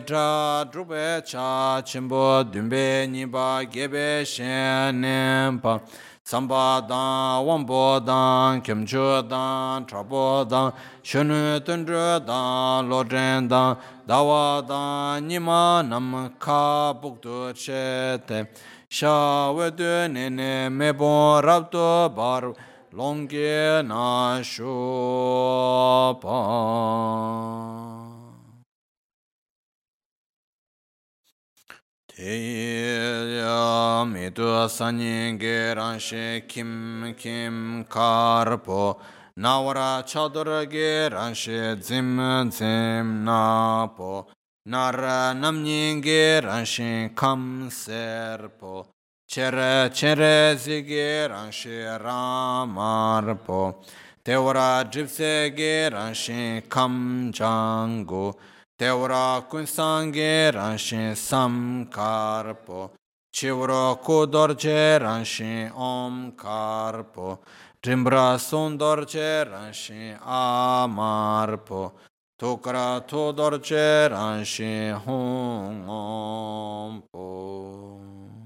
cha chimbo dumbe niba gebe shenempa Samba dan, wambo dan, kimcho dan, trabo dan, shunu tundru dan, lodren dan, dawa dan, nima nam ka bukdu chete Sha wedu nene mebon rabdo bar longge na shopa Teya mitu sanyin geranshi kim kim karpo Nawara chadura geranshi zim zim napo Nara namnyin geranshi kam serpo Chere chere zigeranshi ramarpo Tewara jipse geranshi kam jango Teura kunsange ranshin samkarpo, chivro kudorje ranshin omkarpo, trimbra sundorje ranshin amarpo, tukra tudorje ranshin hungompo.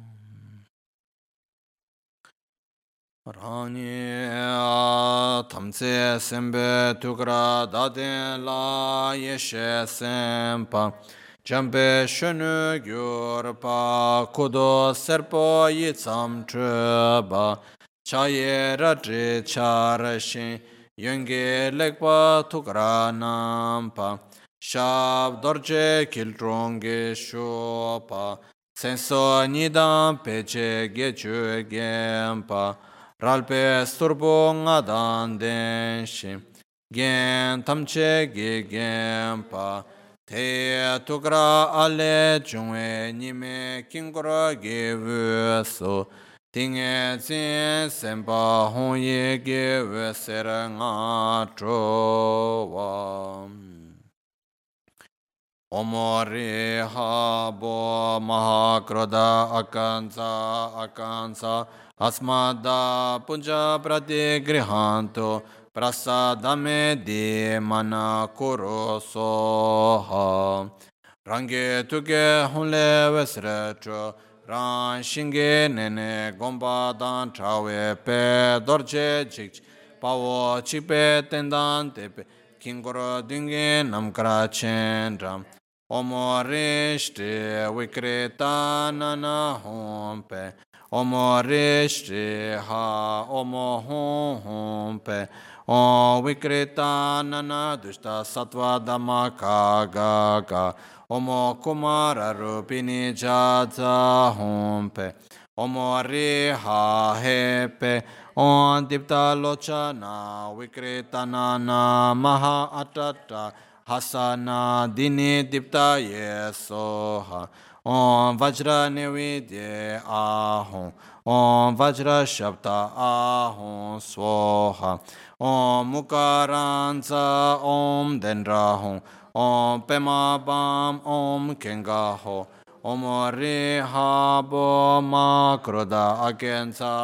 Rani tamse sembe tukra daden la yeshe sempa jambe shunu gyurpa kudo serpo yitsam treba chaye radri charashin yunge lekpa tukra nampa shab dorje kiltronge shopa senso nidam peche gechu gempa Ralpe sturbo nga dan denshi, gen tamche ge genpa, te tukra ale chungwe nime kingura ge vuso, Tinge zin sempa hong ye ge we ser nga tro wa. Omori ha bo mahakroda akansa asmada punja prati grihanto prasadame di mana kuro soha. Rangi tuke hunle vesretro ran shinge nene gomba dan trawe pe dorje chik pawo chikpe tendan tepe kingoro dunge namkara chendram omorishti vikreta nana hompe omorishti ha omo hompe o vikreta nana dushta sattva dhamma kaga Omo kumara rupini jaza hompe Omo riha hepe On dipta lochana Vikritana na maha atata Hasana dini dipta yesoha Om vajra nividye ahom Om vajra shabda ahom svoha Om mukaranza om dendrahom Om Pema Bam Om Kenga Ho Om Riha Bo Makroda Akensa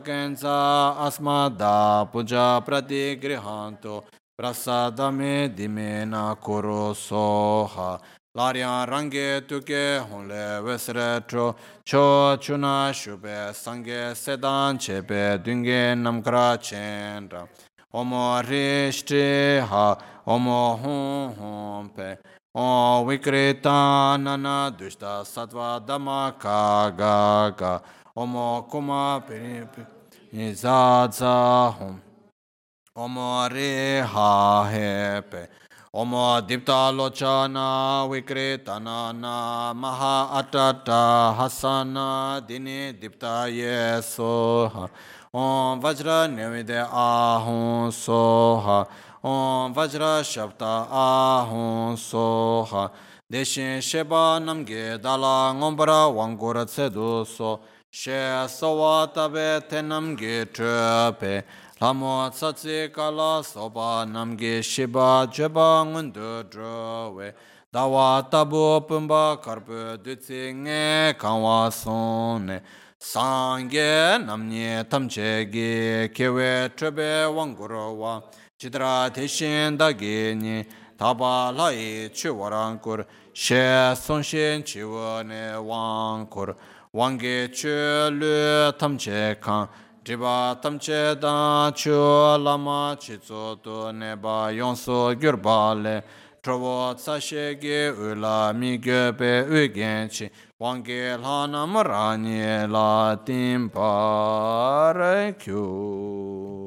Asmada Puja Prati Grihanto Prasadame Dimena Kuro Soha Laryan Range Tuke Honle Vesretro Cho Chuna Shube Sange Sedan Chepe Dunge Namkra Chendra Omo Rishti Ha Omo Hum Hum Pe Om Vikrita Nana Dushta Sattva Dhamma Kaga Omo Kuma Piripi Nizadza Hum Omo Riha Hepe Omo Dipta Lochana Vikrita Nana Maha Atata Hasana Dini Dipta Yesoha Om Vajra Nivide Ahum Soha Om Vajra Shabda Ahum Soha Deshin Sheba Namge Dala Ngombara Wangura Tsedu So She Sowa Tabe Tenamge Trepe Lamo Tsatsi Kala Soba Namge Sheba Jeba Ngundu Drowe Dawa Tabu Pumba Karpu Dutsi Nge Kanwa Sone Sangye Namnye Tamchegi Kewe Trebe Wangurawa Chidra Teshin Dagini Taba Lai Chiwarankur She Sonshin Chiwane Wankur Wange Chulu Tamche Kan Driba Tamche Da Chu Lama Chitso To Neba Yonso Gyurbale Trovo Tsashegi Ula Migyope Ugenchi Wange Lhana Marani La Timpare Kyu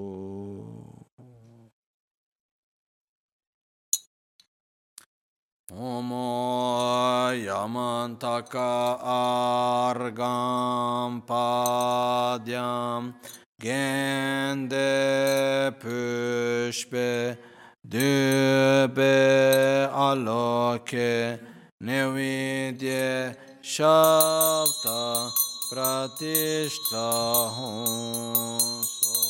Omo Yamantaka Argam Padyam Gende Pushpe Dube Aloke Nevidye Shabda Pratishta Honso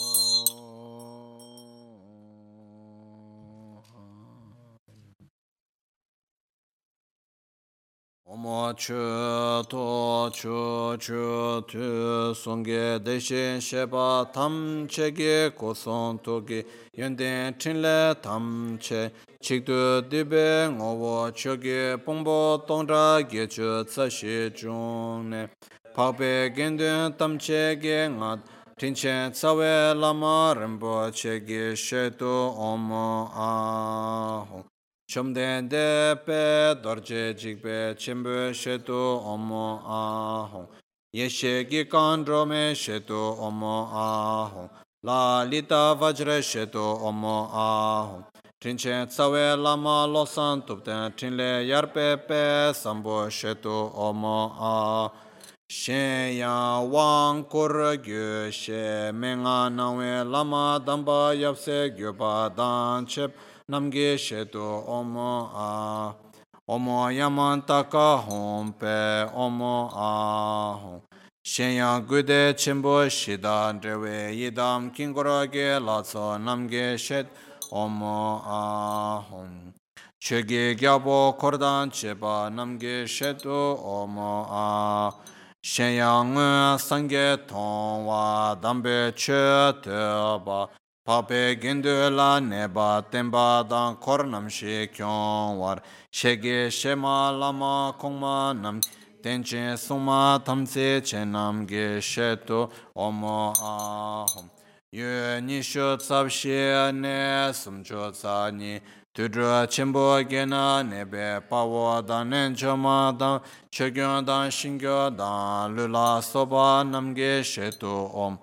Omo chu to chu chu tu songge deshin sheba tam chege koson toge yenden chinle tam che chikdu dibe ngowo choge pongbo tongda gechu tsashi chungne pakpe gendun tam chege ngad tinchen tsawe lama rinpo chege shetu omo ahong Chomden de pe dorje jikpe chimbu shetu omo ahong. Yeshe gi kandro me shetu omo ahong. La lita vajre shetu omo ahong. Trinchen tsawe lama losan tupten trinle yarpe pe sambo shetu omo ahong. Shen yang wang kur gyu she menga nangwe lama damba yapse gyu pa dan chep namge shetu omo a omo yaman taka hom pe omo a hom Shenyang gude chenpo shida drewe yidam kingurage latso namge shet omo ahom. Chöge gyabo kordan cheba namge shetu omo ah. Shenyang sangye tongwa dambe che teba. Pape gindu la neba temba dan kornam she kyong war. Shege shema lama kongma nam tenche suma tamse chenam ge shetu omo ahom. Yue nishu tsabshi ne sumcho tsani. Tudra chenpo gena nebe pawo dan nenchoma dan chegyon dan shingyo dan lula soba namge shetu om.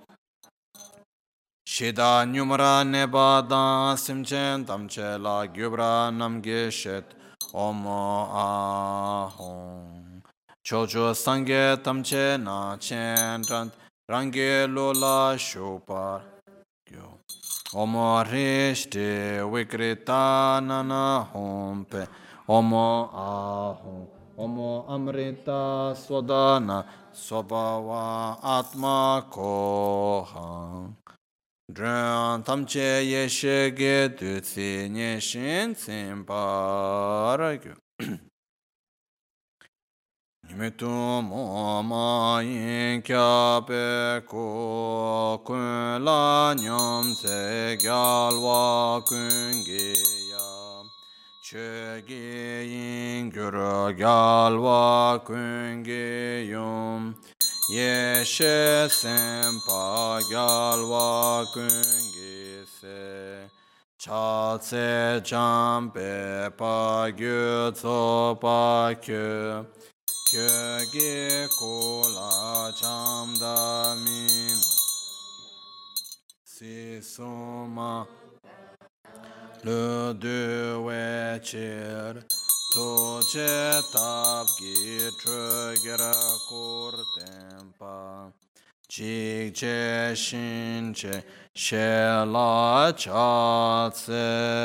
Shida nyumra neba dan simchen tamche la gyubra namge shet omo ahom. Chocho sangye tamche na chen range lola shupar gyo. Omo rishti vikrita nana hompe omo ahom. Omo amrita swadana swabhava atma koham. Dren tamche yeshe ge du tsi nye shin tsim paragyo. Nimitu mo ma yin kya pe ko kun la nyam se gyalwa kun ge ya. Che ge yin gyur gyalwa kun ge yum. Yeshe sempa gyalwa kungi se. Cha tse jampe pa gyu tso pa kyu. Kyu gi kula chamda min. Si suma le du we chir. To che tab gi tru gira kur tempa. Chik che shin che she la cha tse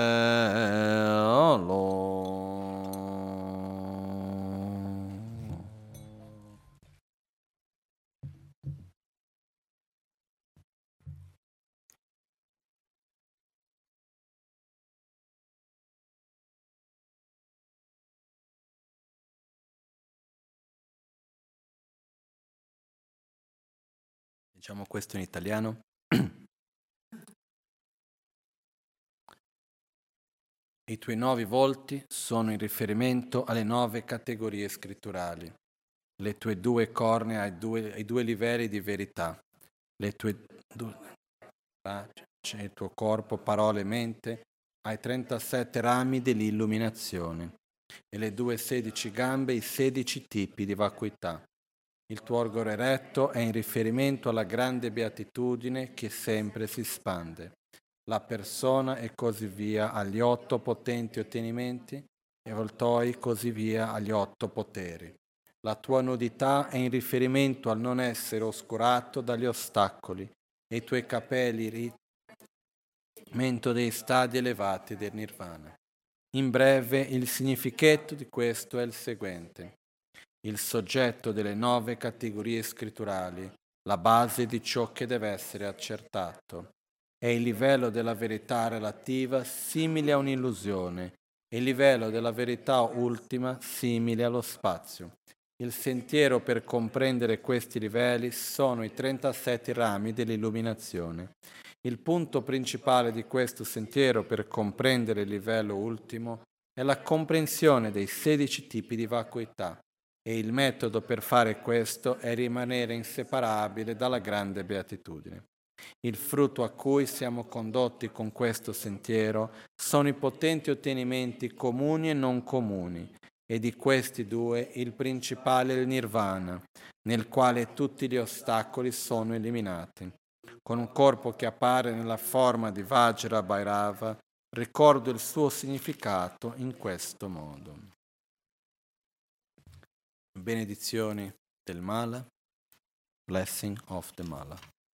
lo. Diciamo questo in italiano. I tuoi 9 volti sono in riferimento alle 9 categorie scritturali. Le tue 2 cornea ai due livelli di verità. Le tue il tuo corpo, parole e mente ai 37 rami dell'illuminazione. E le 16 gambe i 16 tipi di vacuità. Il tuo organo eretto è in riferimento alla grande beatitudine che sempre si spande. La persona e così via agli 8 potenti ottenimenti e voltoi così via agli 8 poteri. La tua nudità è in riferimento al non essere oscurato dagli ostacoli e i tuoi capelli riferimento dei stadi elevati del nirvana. In breve, il significato di questo è il seguente. Il soggetto delle 9 categorie scritturali, la base di ciò che deve essere accertato, è il livello della verità relativa simile a un'illusione e il livello della verità ultima simile allo spazio. Il sentiero per comprendere questi livelli sono i 37 rami dell'illuminazione. Il punto principale di questo sentiero per comprendere il livello ultimo è la comprensione dei 16 tipi di vacuità. E il metodo per fare questo è rimanere inseparabile dalla grande beatitudine. Il frutto a cui siamo condotti con questo sentiero sono i potenti ottenimenti comuni e non comuni, e di questi 2 il principale è il nirvana, nel quale tutti gli ostacoli sono eliminati. Con un corpo che appare nella forma di Vajra Bhairava, ricordo il suo significato in questo modo. Benedizioni del Mala, blessing of the Mala.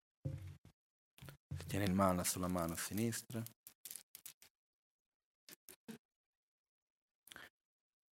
Tiene il Mala sulla mano sinistra.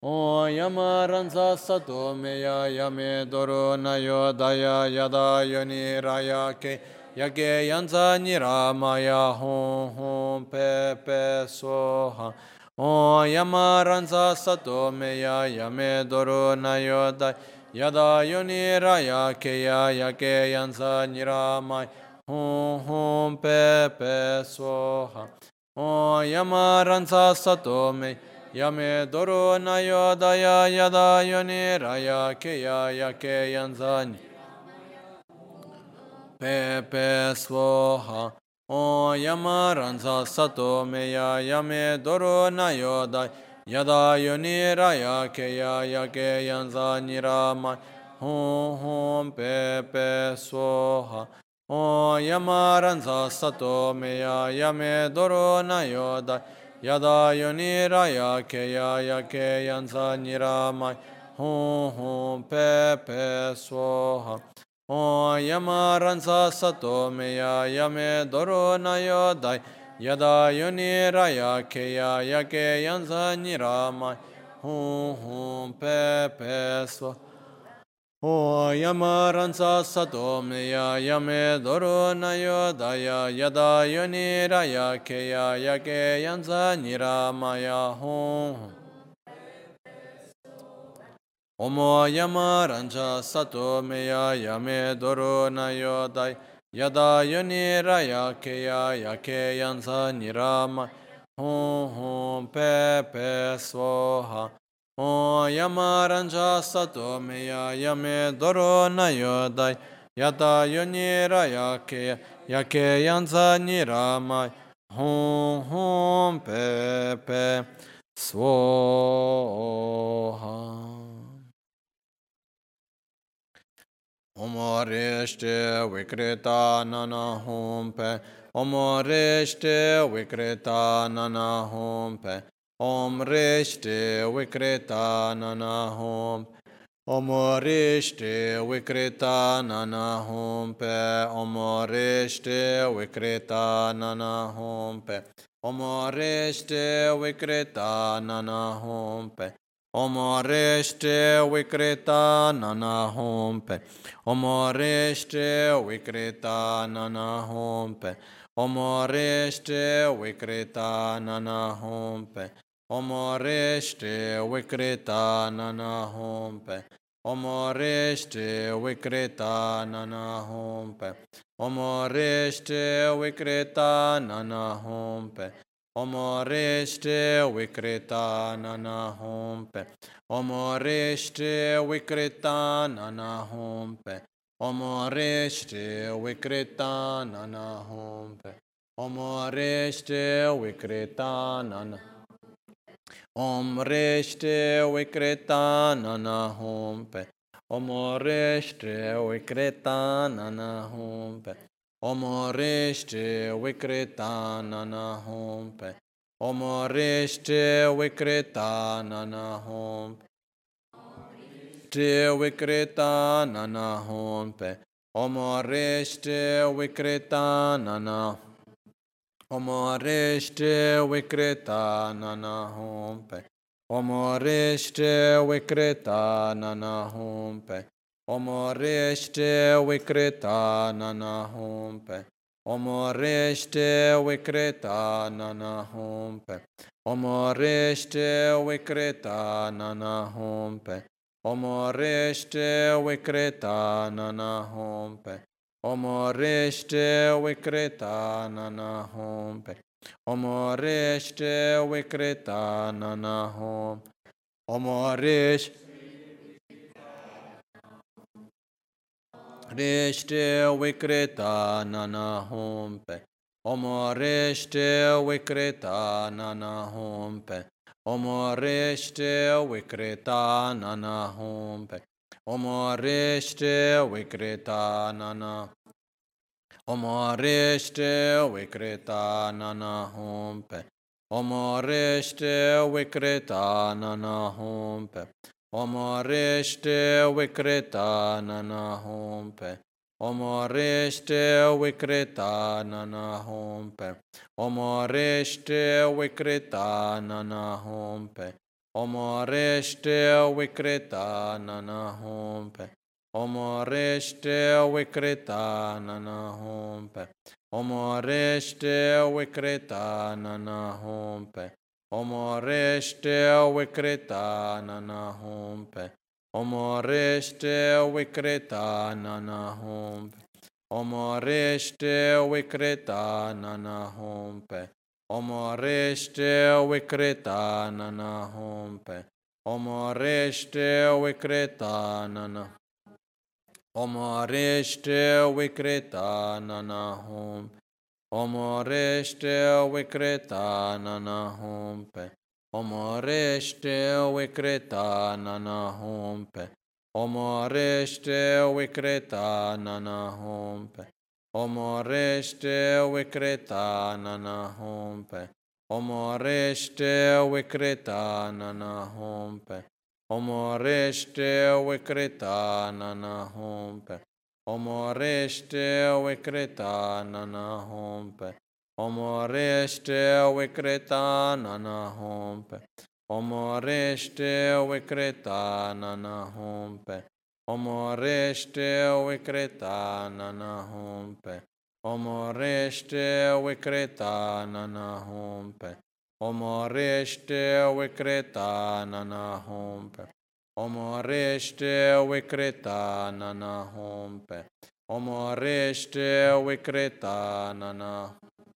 O yamaranza sato meya yame doro nayo daya yada yoni raya ke yage yanza nira maya hon hon pe pe soha. O yamaranza sato meya yame doro nayo daya yada yoni raya ke yage yanza nira maya hon hon pe pe soha. O yamaranza sato meya Yame doro na yodaya yada yoni raya keya yake yanzani pepe svoha o yama ranza sato meya yame doro na yodaya yada yoni raya keya yake yanzani rama hum hum pepe svoha o yama ranza sato meya yame doro na yodaya Yada yoni raya keya yake yanza niramai hum hum pe pe svoha o yama ranza sato meya yame doro na yodai yada yoni raya keya yake yanza niramai hum hum pe pe svoha O yamaransa sato meya yame doro na yodaya yada yoni raya keya yake yanza niramaya hon. Omo yamaransa sato meya yame doro na yodaya yada yoni raya keya yake yanza niramaya hon hon pe pe svoha. O yamaranja sato meya yame doro na yodai yata yoni raya yake yanza niramai hum hum pe pe svoha. Omoreshte vikrita nana hum pe Omoreshte vikrita nana hum pe Om Reshte Vikrita Nana Hum Om Reshte Vikrita Nana Hum Pe Om Reshte Vikrita Nana Hum Pe Om Reshte Vikrita Nana Hum Pe Om Reshte Vikrita Nana Hum Pe Om Reshte Vikrita Nana Hum Pe Om Reshte Vikrita Nana Hum Pe Omoreshte Vikrita Nana Hompe Omoreshte Vikrita Nana Hompe Omoreshte Vikrita Nana Hompe Omoreshte Vikrita Nana Hompe Omoreshte Vikrita Nana Hompe Omoreshte Vikrita Nana Hompe Omoreshte Vikrita Nana Om Reshte Vikrita Nana Hompe Om Reshte Vikrita Nana Hompe Om Reshte Vikrita Nana Hompe Om Reshte Vikrita Nana Hompe Te Vikrita Nana Hompe Om Reshte Vikrita Nana Omoreshte Vikrita Nana Hompe Omoreshte Vikrita Nana Hompe Omoreshte Vikrita Nana Hompe Omoreshte Vikrita Nana Hompe Omoreshte Vikrita Nana Hompe Omoreshte Vikrita Nana Hompe Omoreshte Vikrita Nana Hompe Omoreshte Vikrita Nana Hompe Omoreshte Vikrita Nana Hompe Omoreshte Vikrita Nana Hompe Omoreshte Vikrita Nana Hompe Omoreshte Vikrita Nana Omoreshte Vikrita Nana Hompe Omoreshte Vikrita Nana Hompe Omoreshte Vikrita Nana Hompe Omoreshte Vikrita Nana Hompe Omoreshte Vikrita Nana Hompe Omoreshte Vikrita Nana Hompe. Omoreshte Vikrita Nana Hompe. Omoreshte Vikrita Nana Hompe. Omoreshte Vikrita Nana Hompe. Omoreshte Vikrita Nana Hompe. Omoreshte Vikrita Nana Hompe. Omoreshte Vikrita Nana Hompe. Omoreshte Vikrita Nana. Omoreshte Vikrita Nana Hompe. Omoreshte Vikrita Nana Hompe. Omoreshte Vikrita Nana Hompe. Omoreshte Vikrita Nana Hompe. Omoreshte Vikrita Nana Hompe. Omoreshte Vikrita Nana Hompe. Omoreshte Vikrita Nana Hompe. Omoreshte Vikrita Nana Hompe. Omoreshte Vikrita Nana Hompe. Omoreshte Vikrita Nana Hompe. Omoreshte Vikrita Nana Hompe. Omoreshte Vikrita Nana Hompe. Omoreshte Vikrita Nana Hompe. Omoreshte Vikrita Nana Hompe. Omoreshte Vikrita Nana.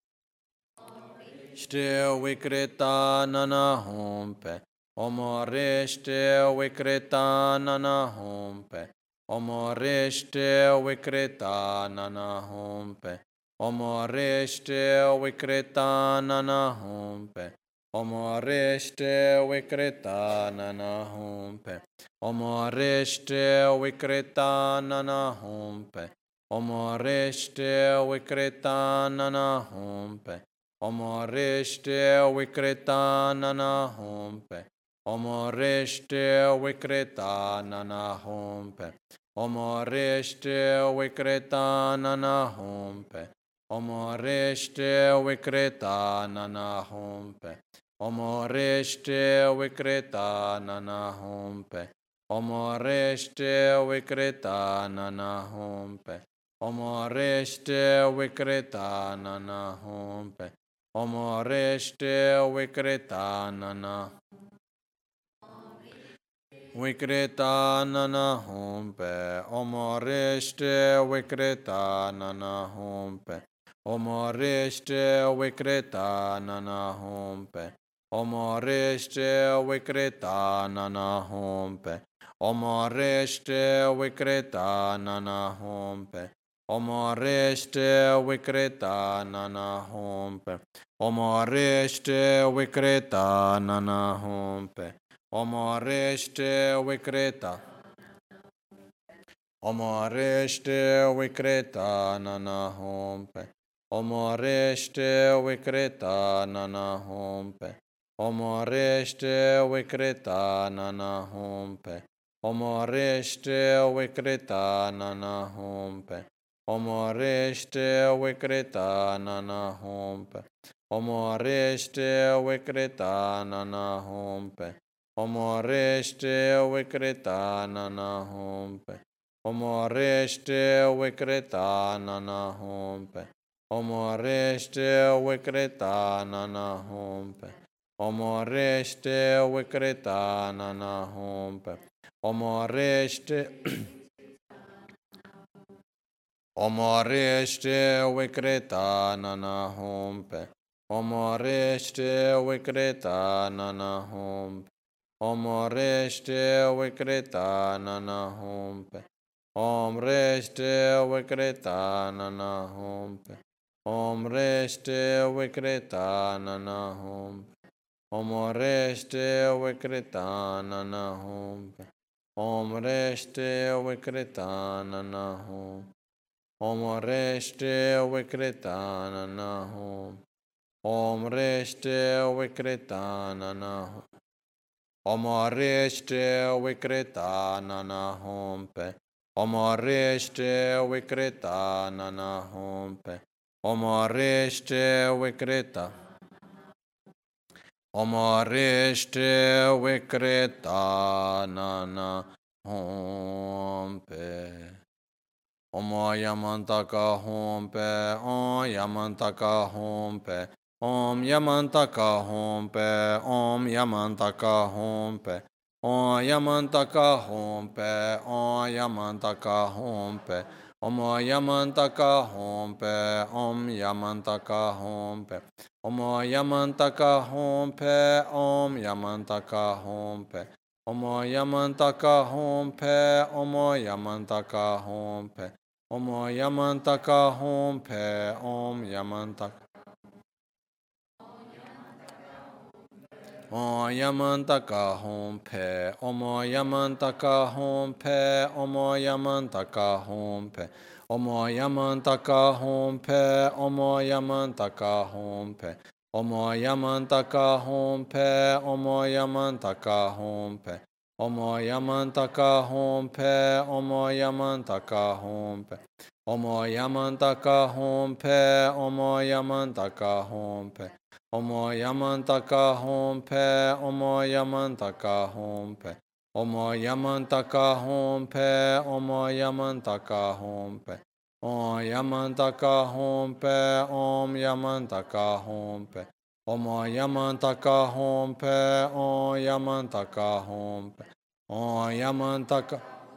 Shte Vikrita Nana Hompe. Omoreshte Vikrita Nana Hompe. Omoreshte Vikrita Nana Hompe. Omoreshte Vikrita Nana Hompe. Omoreshte Vikrita Nana Hompe. Omoreshte Vikrita Nana Hompe. Omoreshte Vikrita Nana Hompe. Omoreshte Vikrita Nana Hompe. Omoreshte Vikrita Nana Hompe. Omoreshte Vikrita Nana Hompe. Omoreshte Vikrita Nana Hompe. Omoreshte Vikrita Nana Hompe. Omoreshte Vikrita Nana Hompe. Omoreshte Vikrita Nana Hompe. Omoreshte Vikrita Nana. Vikrita Nana Hompe. Omoreshte Vikrita Nana Hompe. Omoreshte Vikrita Nana Hompe. Omoreshte Vikrita Nana Hompe. Omoreshte Vikrita Nana Hompe. Omoreshte Vikrita Nana Hompe. Omoreshte Vikrita Nana Hompe. Omoreshte Vikrita. Omoreshte Vikrita Nana Hompe. Omoreshte Vikrita Nana Hompe. Omoreshte Vikrita Nana Hompe. Omoreshte Vikrita Nana Hompe. Omoreshte Vikrita Nana Hompe. Omoreshte Vikrita Nana Hompe. Omoreshte Vikrita Nana Hompe. Omoreshte Vikrita Nana Hompe. Omoreshte Vikrita Nana Hompe. Omoreshte Vikrita Nana Hompe. Omoreshte Omoreshte Vikrita Nana Hompe. Omoreshte Vikrita Nana Hompe. Omoreshte Vikrita Nana Hompe. Omreshte Vikrita Nana Hompe. Omreshte Vikrita Nana Hompe. Omreshte Vikrita Nana Hompe. Omreshte Vikrita Nana Hompe. Omreshte Vikrita Nana Hompe. Omreshte Vikrita Nana Hompe. Omreshte Vikrita Nana Hompe. Omreshte Vikrita Nana Hompe. Omreshte Vikrita. Omo Rishtre Vikrita Nana Om Pe. Om Yamantaka Hom Pe, Om Yamantaka Hom Pe, Om Yamantaka Hom Pe, Om Yamantaka Hom Pe, Om Yamantaka Hom Pe, Om Yamantaka Hom Pe, Om Yamantaka Hom Pe, Om Yamantaka Hom Pe, Om Yamantaka Hom Pe, Om Yamantaka Hom Pe, Om Yamantaka Hom Pe, Om Yamantaka Hom Pe. Om Yamantaka Hom Pe, Om Yamantaka. Om Yamantaka Hom Pe, Om Yamantaka Hom Pe, Om Yamantaka Hom Pe, Om Yamantaka Hom Pe, Om Yamantaka Hom Pe, Om Yamantaka Hom Pe, Om Yamantaka Hom Pe, Om Yamantaka Hom Pe, Om Yamantaka Hom Pe, Om Yamantaka Hom Pe, Om Yamantaka Hom Pe. Omo Yamantaka Hom Pe, Omo Yamantaka Hom Pe, Omo Yamantaka Hom Pe, Omo Yamantaka Hom Pe, Om Yamantaka Hom Pe, Om Yamantaka Hom Pe, Omo Yamantaka Hom Pe, Om Yamantaka Hom Pe, Om Yamantaka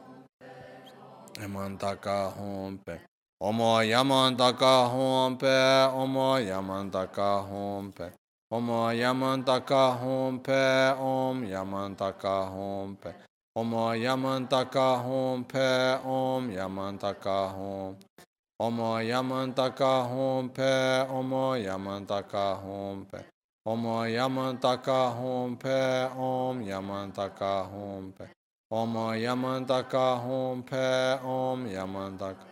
Yamantaka Hom Pe. Omo Yamantaka Hom Pe, Omo Yamantaka Hom Pe, Omo Yamantaka Hom Pe, Om Yamantaka Hom Pe, Omo Yamantaka Hom Pe, Om Yamantaka Hom, Omo Yamantaka Hom Pe, Omo Yamantaka Hom Pe, Omo Yamantaka Hom Pe, Om Yamantaka Hom Pe, Omo Yamantaka Hom Pe, Om Yamantaka.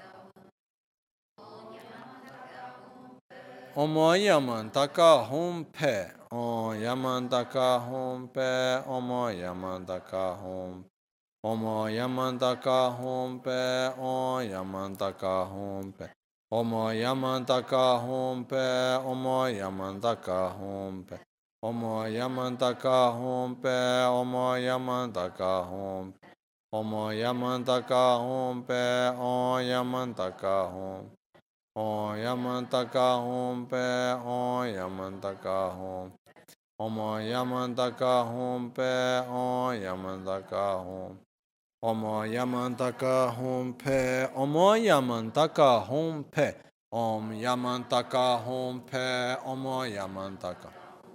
Omo Yamantaka Hom Pe, Om Yamantaka Hom Pe, Omo Yamantaka Hom, Omo Yamantaka Hom Pe, Om Yamantaka Hom Pe, Omo Yamantaka Hom Pe, Omo Yamantaka Hom Pe, Omo Yamantaka Hom Pe, Omo Yamantaka Hom, Omo Yamantaka Hom Pe, Om Yamantaka Hom. Om Yamantaka Hom Pe, Om Yamantaka Hom, Om Yamantaka Hom Pe, Om Yamantaka Hom, Om Yamantaka Hom Pe, Om Yamantaka Hom Pe, Om Yamantaka Hom Pe, Om Yamantaka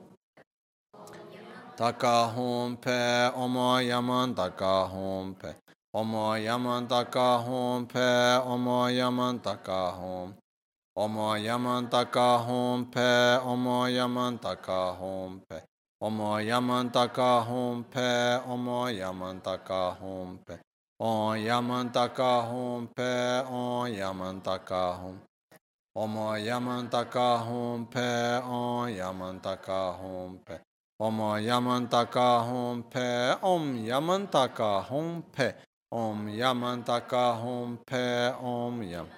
Taka Hom Pe, Om Yamantaka Hom Pe, Om Yamantaka Hom Pe, Om Yamantaka Hom. Omo Yamantaka Hom Pe, Omo Yamantaka Hom Pe, Omo Yamantaka Hom Pe, Omo Yamantaka Hom Pe, Om Yamantaka Hom Pe, Om Yamantaka Hom, Omo Yamantaka Hom Pe, Om Yamantaka Hom Pe, Omo Yamantaka Hom Pe, Om Yamantaka Hom Pe, Om Yamantaka Hom Pe, Om Yam.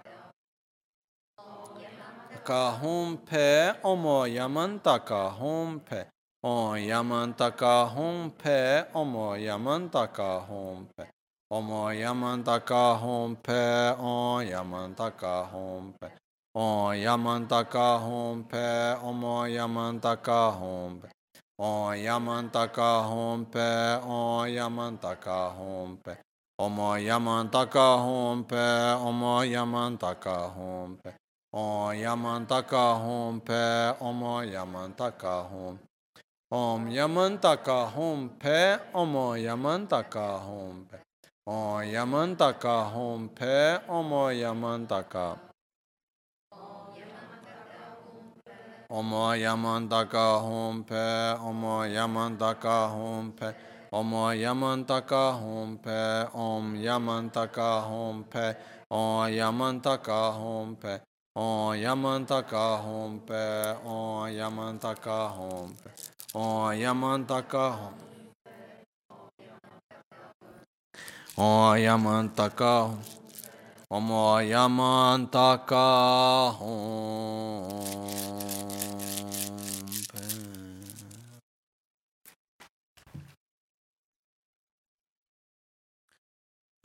Hom Pe, Omo Yamantaka Hom Pe, Om Yamantaka Hom Pe, Omo Yamantaka Hom Pe, Omo Yamantaka Hom Pe, Om Yamantaka Hom Pe, Om Yamantaka Hom Pe, Omo Yamantaka Hom Pe, Om Yamantaka Hom Pe, Om Yamantaka Hom Pe, Omo Yamantaka Hom Pe, Omo Yamantaka Hom Pe. Om Yamantaka Hom Pe, Omo Yamantaka Hom. Om Yamantaka Hom Pe, Omo Yamantaka Hom Pe. Om Yamantaka Hom Pe, Omo Yamantaka. Omo Yamantaka Hom Pe, Omo Yamantaka Hom Pe. Omo Yamantaka Hom Pe, Om Yamantaka Hom Pe, Om Yamantaka Hom Pe. Om Yamantaka Hom Pe, Om Yamantaka Hom Pe, Om Yamantaka Hom, Om Yamantaka, Om Yamantaka Hom Pe.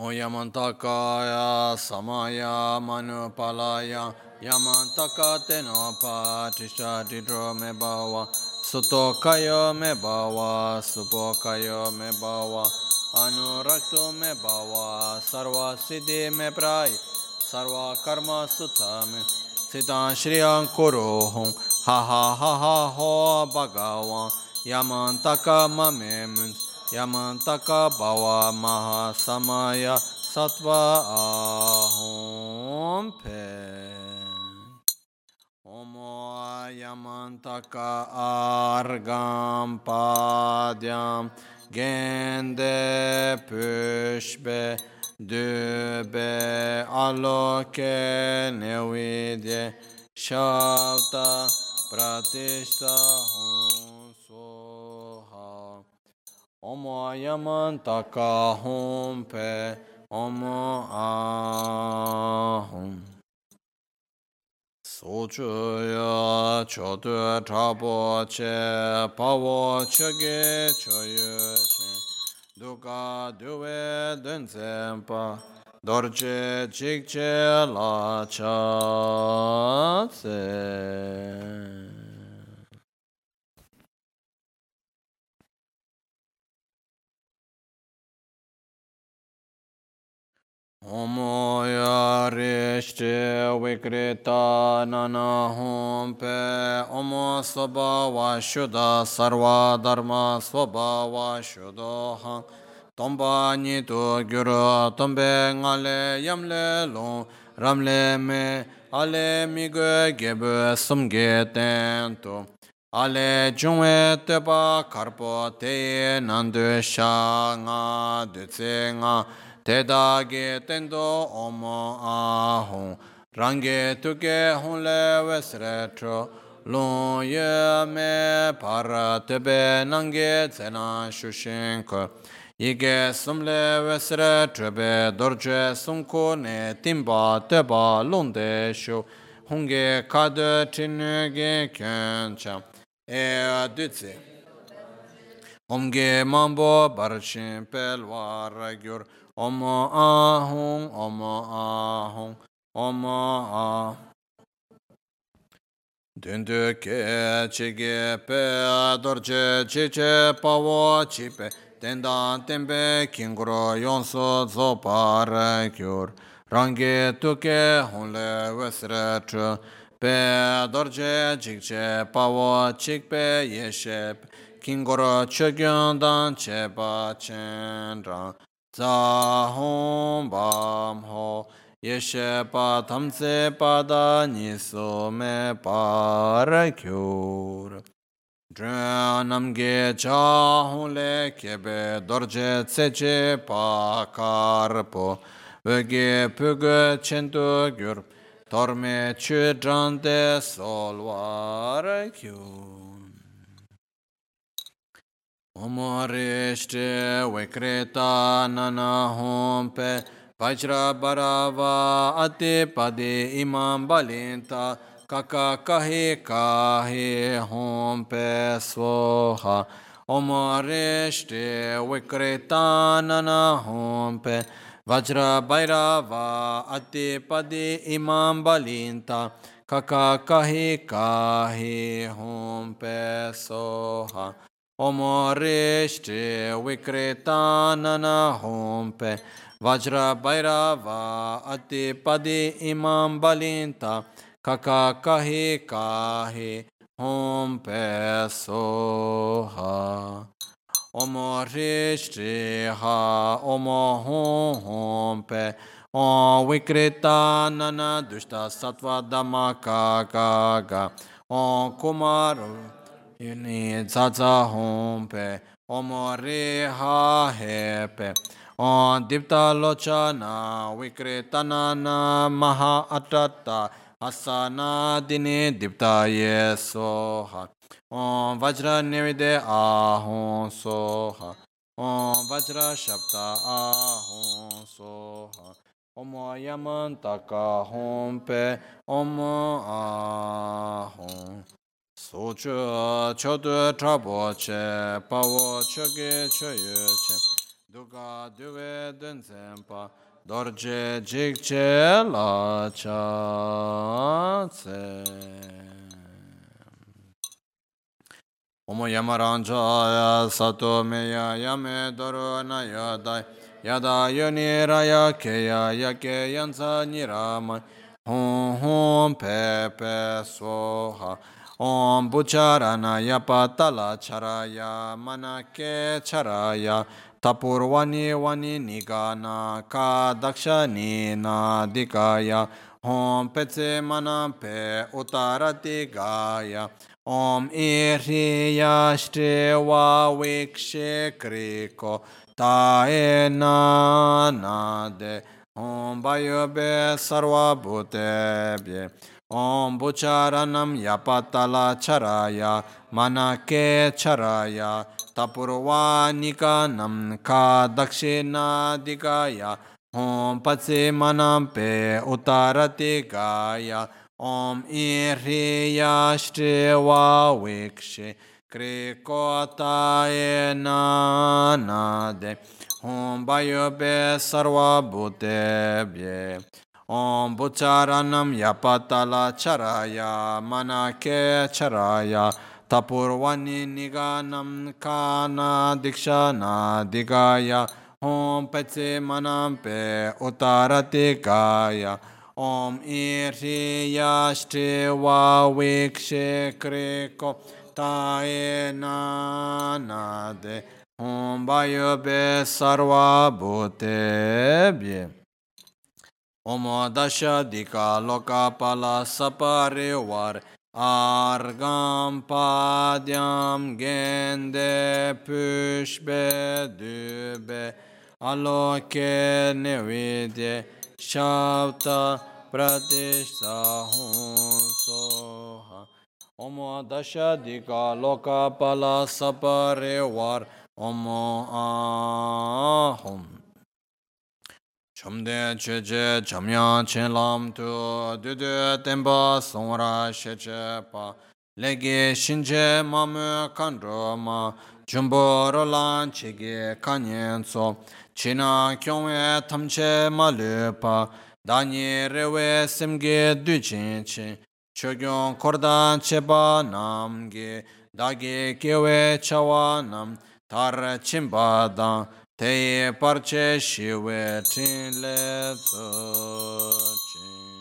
Oyamantakaya samaya manupalaya Yamantaka tenopa tisha didro me bawa Sutokayo me bawa Supokayo me bawa Anurakto me bawa Sarva siddhi me pray Sarva karma sutame Siddhan shriyam kurohum Ha ha ha ha ho bhagavan Yamantaka mame mun Yamantaka bhava maha samaya sattva ahom pe. Omo yamantaka argam padyam gende pushbe dube aloke nevidye shavta pratishta hum soha. Omo yamantaka hum pe omo ahum. Sochuya chotu trabo che pavo chege choyu che duka duwe dunzempa dorje chikche la cha se. Omo yarishte vikrita nana hum pe Omo svabhava shuddha sarva dharma svabhava shuddha Tomba nitu gyuru tombe ngale yamle long ramle me ale migwe gebe sumge tento Ale jungwe teba karpo te nandu sha nga dutse nga Tedage tendo omo ahong range tuke honle vesretro long ye me para tebe nange tsena shushinko Ige sumle vesre trebe dorje sunko ne timba teba londe shu honge kade tinuge kyencha e dutse Omge mambo barchin pelwar gyur Omo ahong, omo ahong, omo ah. Dundu ke chige pe dorje chiche pawo chipe tendan tembe kingro yonso zopar gyur rangi tuke honle vesre tru pe dorje chiche pawo chikpe yeshep kingro chogyon cheba chenran Zahom bam ho yeshe pa tamse pada niso me parakyur. Dranamge chahon le kebe dorje tseche pa karpo. Vege puge chento gyur torme chudrande solvarakyur. Omorishte vikreta nana hompe Vajra barava ati padi imam balinta Kaka kahi kahi hompe svoha Omorishte vikreta nana hompe Vajra bhairava ati padi imam balinta Kaka kahi kahi hompe soha Omorishte vikreta nana hompe Vajra bhairava ati padi imam balinta Kaka kahi kahi hompe soha Omorishte ha omo hompe Om vikreta nana dushta sattva dhamma kaka Om kumaru Yuni zaza hompe, omo reha hepe, on dipta lochana, vikretanana maha atata, asana dine dipta yesoha, on vajra nevide ahon soha, on vajra shabda ahon soha, omo yamantaka hompe, omo ahon. Sochu chodu trabo che pawo choge choyu che Duka duwe dun sempa dorje jikche la cha tse. Omo yamaranja sato meya yame doro na yadai yada yoni raya keya yake yansa nirama hum hum pepe soha om bucharana yapatala charaya manake charaya tapurvani vani nigana ka dakshani na dikaya om petse manampe utarati gaya Om Iriya Shriva Vikshe Kriko Taena Nade Om Vayobe Sarva Bhutebhye Om Bucharanam Yapatala Charaya Manake Charaya Tapurvanikanam Ka Dakshina Digaya Om Patse Manampe Utarati Gaya Om Iriya Shriva Vikshe Krikota Enanade Om Vayobe Sarva Bhutebhye Om Bucharanam Yapatala Charaya Manake Charaya Tapurvani Niganam Kana Dikshana Digaya Om Petse Manampe Utarati Gaya Om Iriya Shriva Vikshe Kriko Taenanade Om Vayobe Sarva Bhutebhye Om Dasha Dika Lokapala Saparivar Argam Padyam Gende Pushbe Dube Aloke Nevidye Shavta Pratishtha Soha Om Dasha Dika Lokapala Saparivar Om Ahum Chomde Cheche Chamya Chelam Tu Dudu Temba Songra Sheche Pa Lege Shinje Mamu Kandroma Jumbo Rolan Chige Kanyen So China Kyongwe Tamche Malupa Danyi Rewe Simge Duchinchi Chogyon Kordan Cheba Namge Dagi Kewe Chawanam Tar Chimbadan Te Parche Shiwe Chinle Tsochin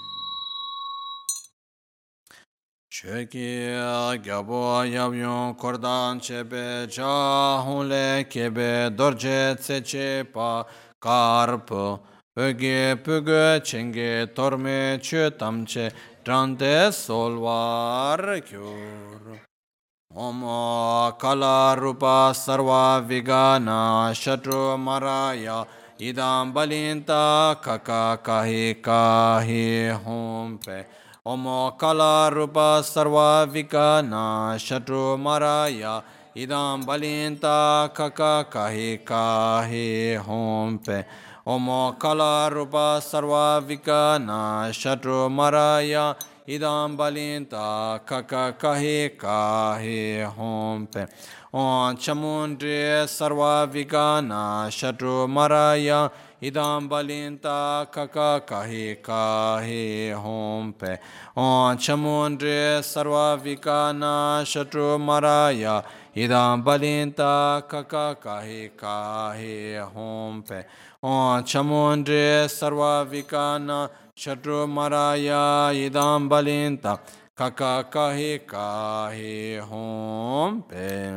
Chöki Gyabo Yabyon Kordan Chebe Chahunle Kebe Dorje Tseche Pa Karpo Pöge Pöge Chenge Torme Chötamche Trante Solvar Kyur Om Kala Rupa Sarva Vigana Shatru Maraya Idam Balinta Kaka Kahi Kahi Hompe Om Kala Rupa Sarva Vigana Shatru Maraya Idam Balinta Kaka Kahi Kahi Hompe Om Kala Rupa Sarva Vigana Shatru Maraya Idam Balinta Kaka Kahi Kahi Hompe Om Chamundri Sarva Vigana Shatru Maraya Idam Balinta Kaka Kahi Kahi Hompe Om Chamundri Sarva Vigana Shatru Maraya Idam Balinta Kaka Kahi Kahi Hompe Om Chamundri Sarva Vigana Shatru Maraya Idam Balinta Kaka Kahi Kahi Hompe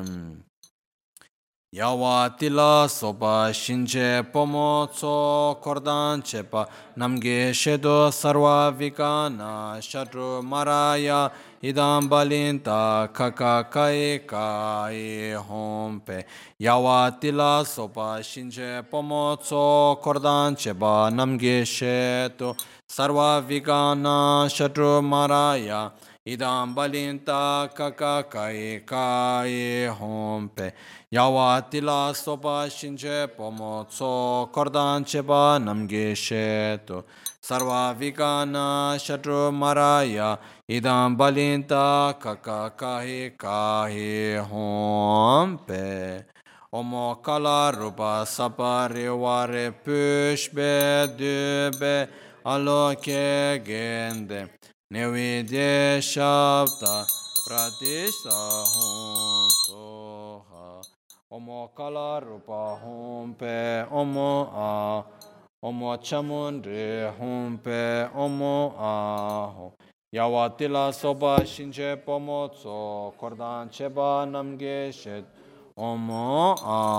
Yawa Tila Sopa Shinche Pomo Tso Kordan Chepa Namge Shedo Sarva Vigana Shatru Maraya Idam Balinta Kaka Kahi Kahi Hompe Yawa Tila Sopa Shinche Pomo Tso Kordan Chepa Namge Shedo Sarva Vigana Shatru Maraya Idam Balinta Kaka Kahi Kahi Hompe Yawa Tila Sopa Shinche Pomo Tso Kordan Cheba Namge Sheto Sarva Vigana Shatru Maraya Idam Balinta Kaka Kahi Kahi Hompe Omo kala rupa sapari ware pushbe dube aloke gende nevidye shabda pratishta hum soha. Omo kala rupa hum pe omo a. Omo chamundri hum pe omo a. Yawatila soba shinche pomo tso kordan cheba namge shet omo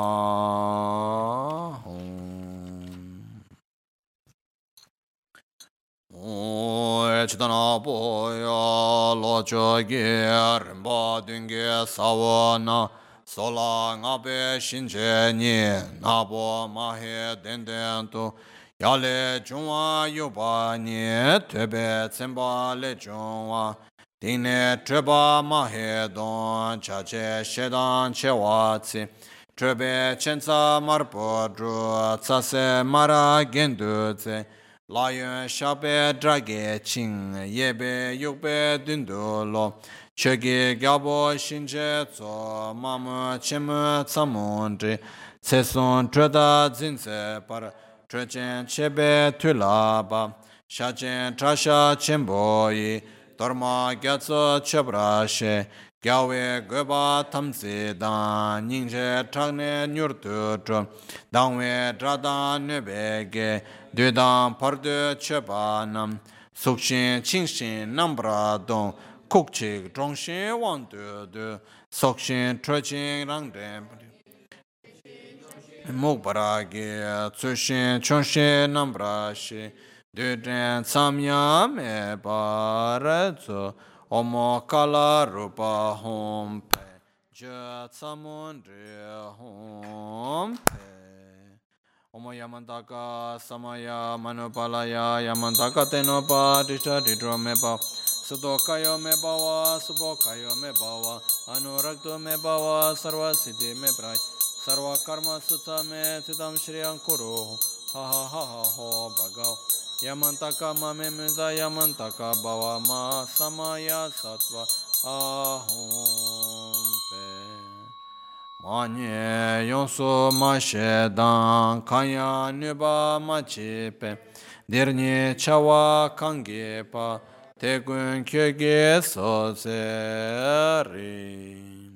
ahum. Chitana poya locho ge rinpa dunge sawana sola ngabe shinche ni nabo mahe denden tu yale chungwa yupa ni tebe tsemba le chungwa dine treba mahe don chache shedan che watsi trebe chenza marpo dru tsase mara gendu tse Lion shabe drage ching yebe yukbe dundu lo chege gyabo shinje tso mamu chemu tsamundri tsesun treda zinse par trechen chebe tulaba shachen trasha chemboyi dorma gyatso chebrashe gyawe goba tamsi dan nyingche tragne nyurtu tro dangwe drada nubege Dödan pardu chebanam sukshin chingshin nambra don kukchik zhongshin wang du sokshin trochin rangden mukbaragi tsushin chongshin nambra shi döden samya me baratsu omo kala rupa hom pe je tsamundri hom pe Omo Yamantaka Samaya Manupalaya Yamantaka Tenopa Disha Didro Mepa Sudokayo Mebawa Subokayo Mebawa Anurakto Mebawa Sarva Siddhi Meprai Sarva Karma Sutta Me Tidam Shriyam Kuru Ha ha ha ha ho Bhagav Yamantaka Mame Mudha Yamantaka Bhava Ma Samaya Sattva Ahom Pe Manye yonso ma shedan kanya nuba ma chepe dirni chawa kange pa tegun kyege so seri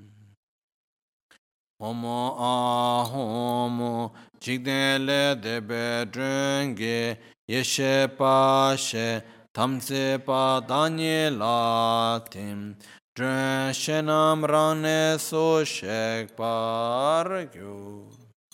homo a homo jigden le debe drenge yeshe pa she tamse pa danye la tim Dren shenam rane so shek par gyu.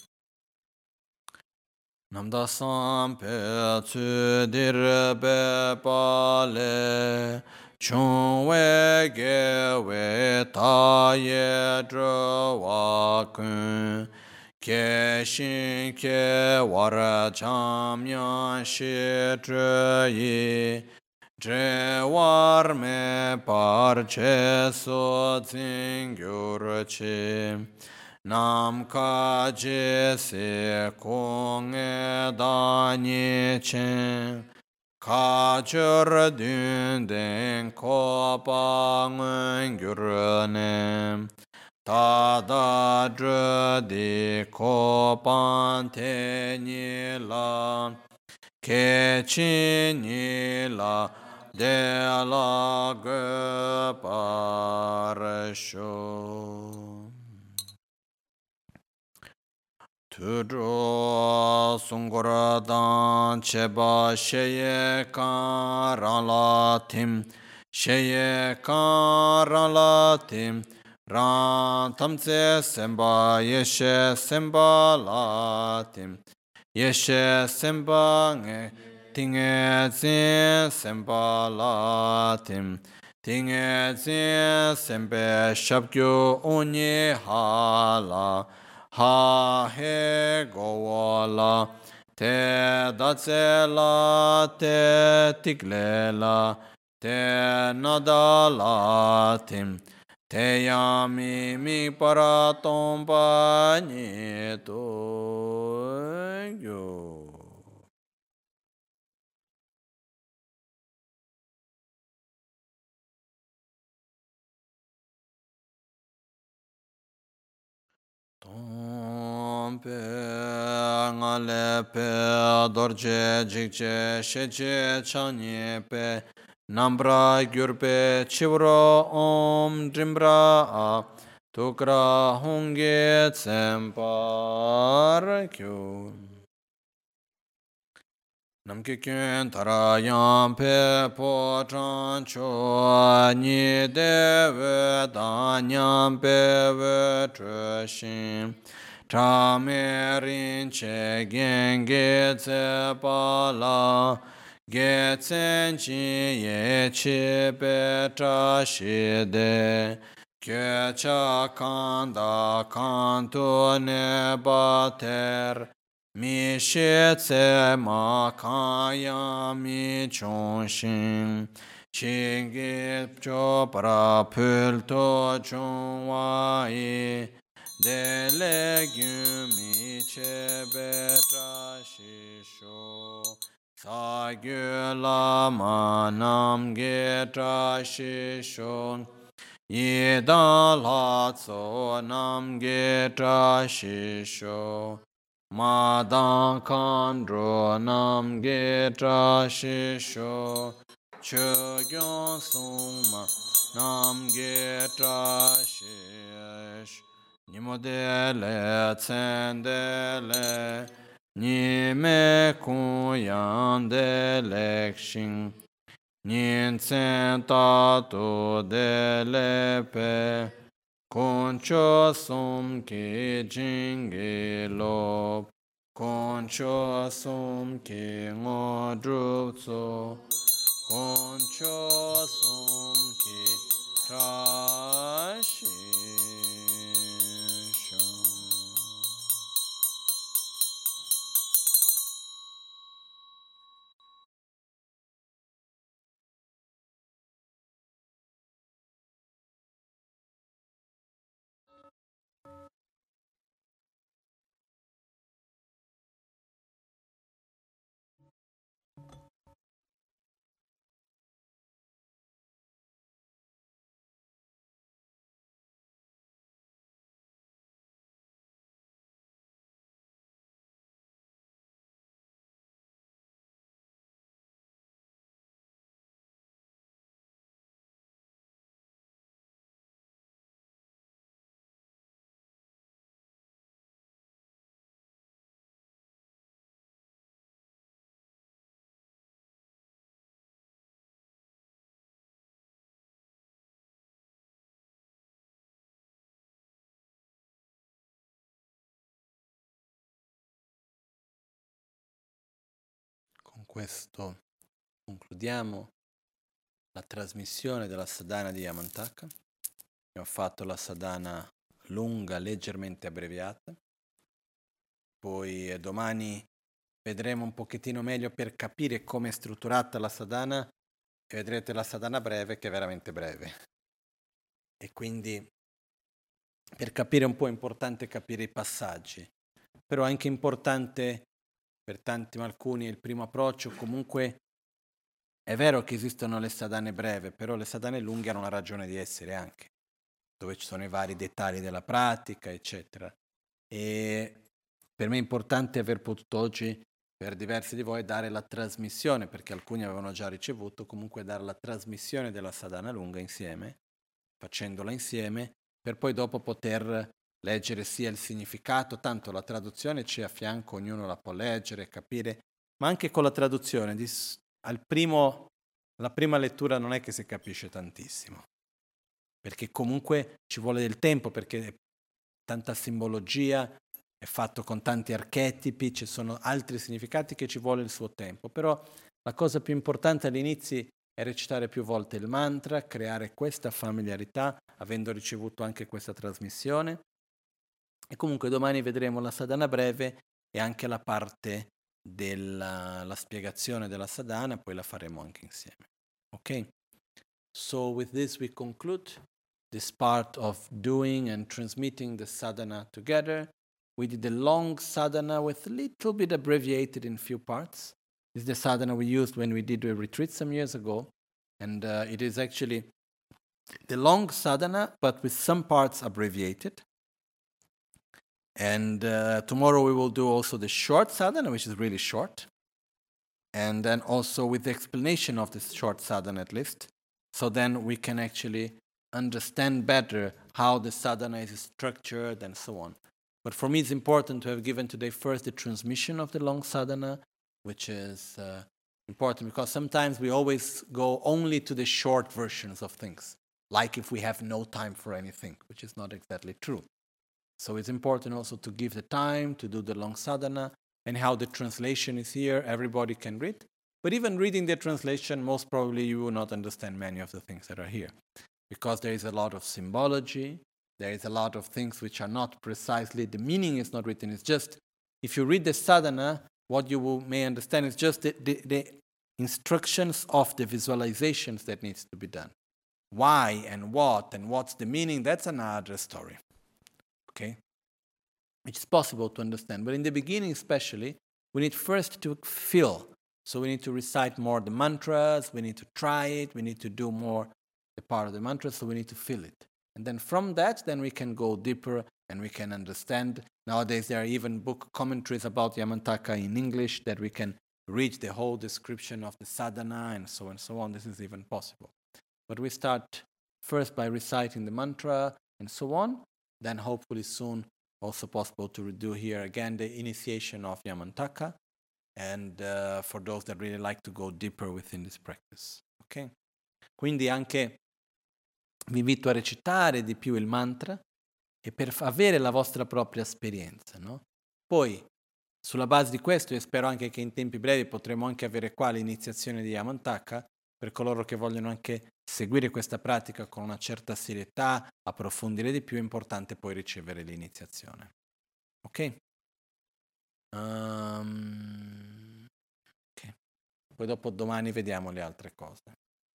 Namda sam pe tsu dir be pale. Chung we ge we ta ye dro wa kun. Ke shin ke war cham yan shi dre yi. Dre war me par che so zingyur chi nam ka je se kong e da ni chen ka chur dun den ko pa ngun gyur ne ta da dre di ko pan te ni la ke chi ni la de la ge par sho tudro sungora dan cheba sheye kan ran la tim sheye kan ran la tim ran tamse semba yeshe semba la tim yeshe semba nge Tinge zin sempa la tim Tinge zin sempe shabkyu unyi ha la Ha he go la Te datse la te tikle la Te nada la tim Te yami mi para tompa ni to yo pe ngale pe dorje jikje sheje chanye pe nambra gyurpe chivro om drimbra tukra hongye tsempar kyu namke kyun tarayam pe po chan cho ni deve danyam pe ve trashin Tramerin che genge tse pala ge tsen chi ye chi pe tra shi de kye cha kanda kanto ne bater mi shi tse ma kaya mi chon shin Chingi cho para pul to chon wa i de legumi chebe trashisho sa gyu lama nam ge trashisho yi da la tso nam ge trashisho ma dan kandro nam ge trashisho che gyon sung ma nam ge trashisho Nimodele tsendele Nime kuyandele kshin Nin tsen tatu dele pe Koncho sum ki jingi lop Koncho sum ki ngodrup tso Koncho sum ki trashi Con questo concludiamo la trasmissione della sadhana di Yamantaka. Abbiamo fatto la sadhana lunga, leggermente abbreviata. Poi domani vedremo un pochettino meglio per capire come è strutturata la sadhana e vedrete la sadhana breve che è veramente breve. E quindi per capire un po' è importante capire i passaggi, però è anche importante per tanti, alcuni, il primo approccio. Comunque è vero che esistono le sadhane breve, però le sadhane lunghe hanno una ragione di essere anche, dove ci sono i vari dettagli della pratica, eccetera. E per me è importante aver potuto oggi, per diversi di voi, dare la trasmissione, perché alcuni avevano già ricevuto, comunque dare la trasmissione della sadhana lunga insieme, facendola insieme, per poi dopo poter leggere sia il significato, tanto la traduzione c'è a fianco, ognuno la può leggere, capire, ma anche con la traduzione, la prima lettura non è che si capisce tantissimo, perché comunque ci vuole del tempo, perché è tanta simbologia, è fatto con tanti archetipi, ci sono altri significati che ci vuole il suo tempo, però la cosa più importante all'inizio è recitare più volte il mantra, creare questa familiarità, avendo ricevuto anche questa trasmissione. E comunque domani vedremo la sadhana breve e anche la parte della spiegazione della sadhana, poi la faremo anche insieme. Ok? So with this we conclude this part of doing and transmitting the sadhana together. We did a long sadhana with a little bit abbreviated in few parts. This is the sadhana we used when we did a retreat some years ago. And it is actually the long sadhana, but with some parts abbreviated. And tomorrow we will do also the short sadhana, which is really short. And then also with the explanation of this short sadhana at least. So then we can actually understand better how the sadhana is structured and so on. But for me it's important to have given today first the transmission of the long sadhana, which is important because sometimes we always go only to the short versions of things, like if we have no time for anything, which is not exactly true. So it's important also to give the time to do the long sadhana, and how the translation is here, everybody can read. But even reading the translation, most probably you will not understand many of the things that are here, because there is a lot of symbology, there is a lot of things which are not precisely, the meaning is not written, it's just, if you read the sadhana, what you may understand is just the instructions of the visualizations that needs to be done. Why and what's the meaning, that's another story. Okay? Which is possible to understand. But in the beginning especially, we need first to feel. So we need to recite more the mantras, we need to try it, we need to do more the part of the mantra, so we need to feel it. And then from that, then we can go deeper and we can understand. Nowadays there are even book commentaries about Yamantaka in English that we can read the whole description of the sadhana and so on. This is even possible. But we start first by reciting the mantra and so on, then hopefully soon also possible to do here again the initiation of Yamantaka, and for those that really like to go deeper within this practice. Ok? Quindi anche vi invito a recitare di più il mantra e per avere la vostra propria esperienza, no? Poi, sulla base di questo, io spero anche che in tempi brevi potremo anche avere qua l'iniziazione di Yamantaka, per coloro che vogliono anche seguire questa pratica con una certa serietà, approfondire di più, è importante poi ricevere l'iniziazione. Ok? Ok. Poi dopo domani vediamo le altre cose.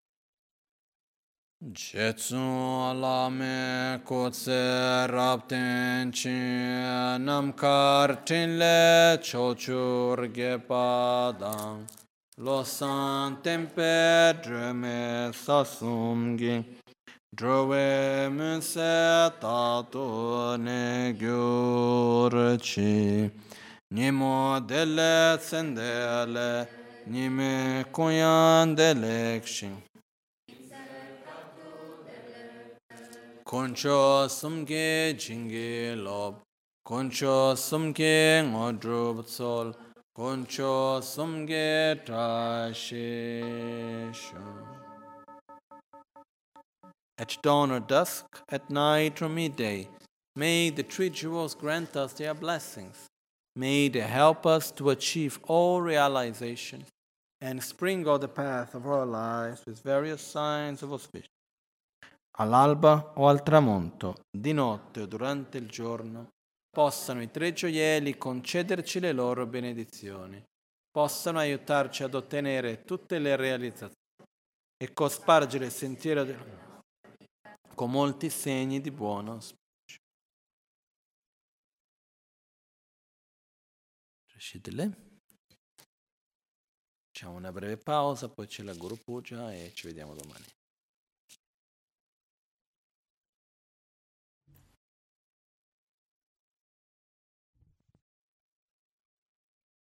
Jetsu alame kotse rapten chi namkar tinle chochur gepadang lo san tempe dreme sasumgi drove munse tato ne gyurchi nimo dele tsendele nime kunyan delekshin Concho sumge jinge lob, concho sumge ngodrub sol, concho sumge trasheshu. At dawn or dusk, at night or midday, may the three jewels grant us their blessings. May they help us to achieve all realizations and sprinkle the path of our lives with various signs of auspicion. All'alba o al tramonto, di notte o durante il giorno, possano i tre gioielli concederci le loro benedizioni, possano aiutarci ad ottenere tutte le realizzazioni e cospargere il sentiero con molti segni di buon auspicio. Facciamo una breve pausa, poi c'è la Guru Puja e ci vediamo domani.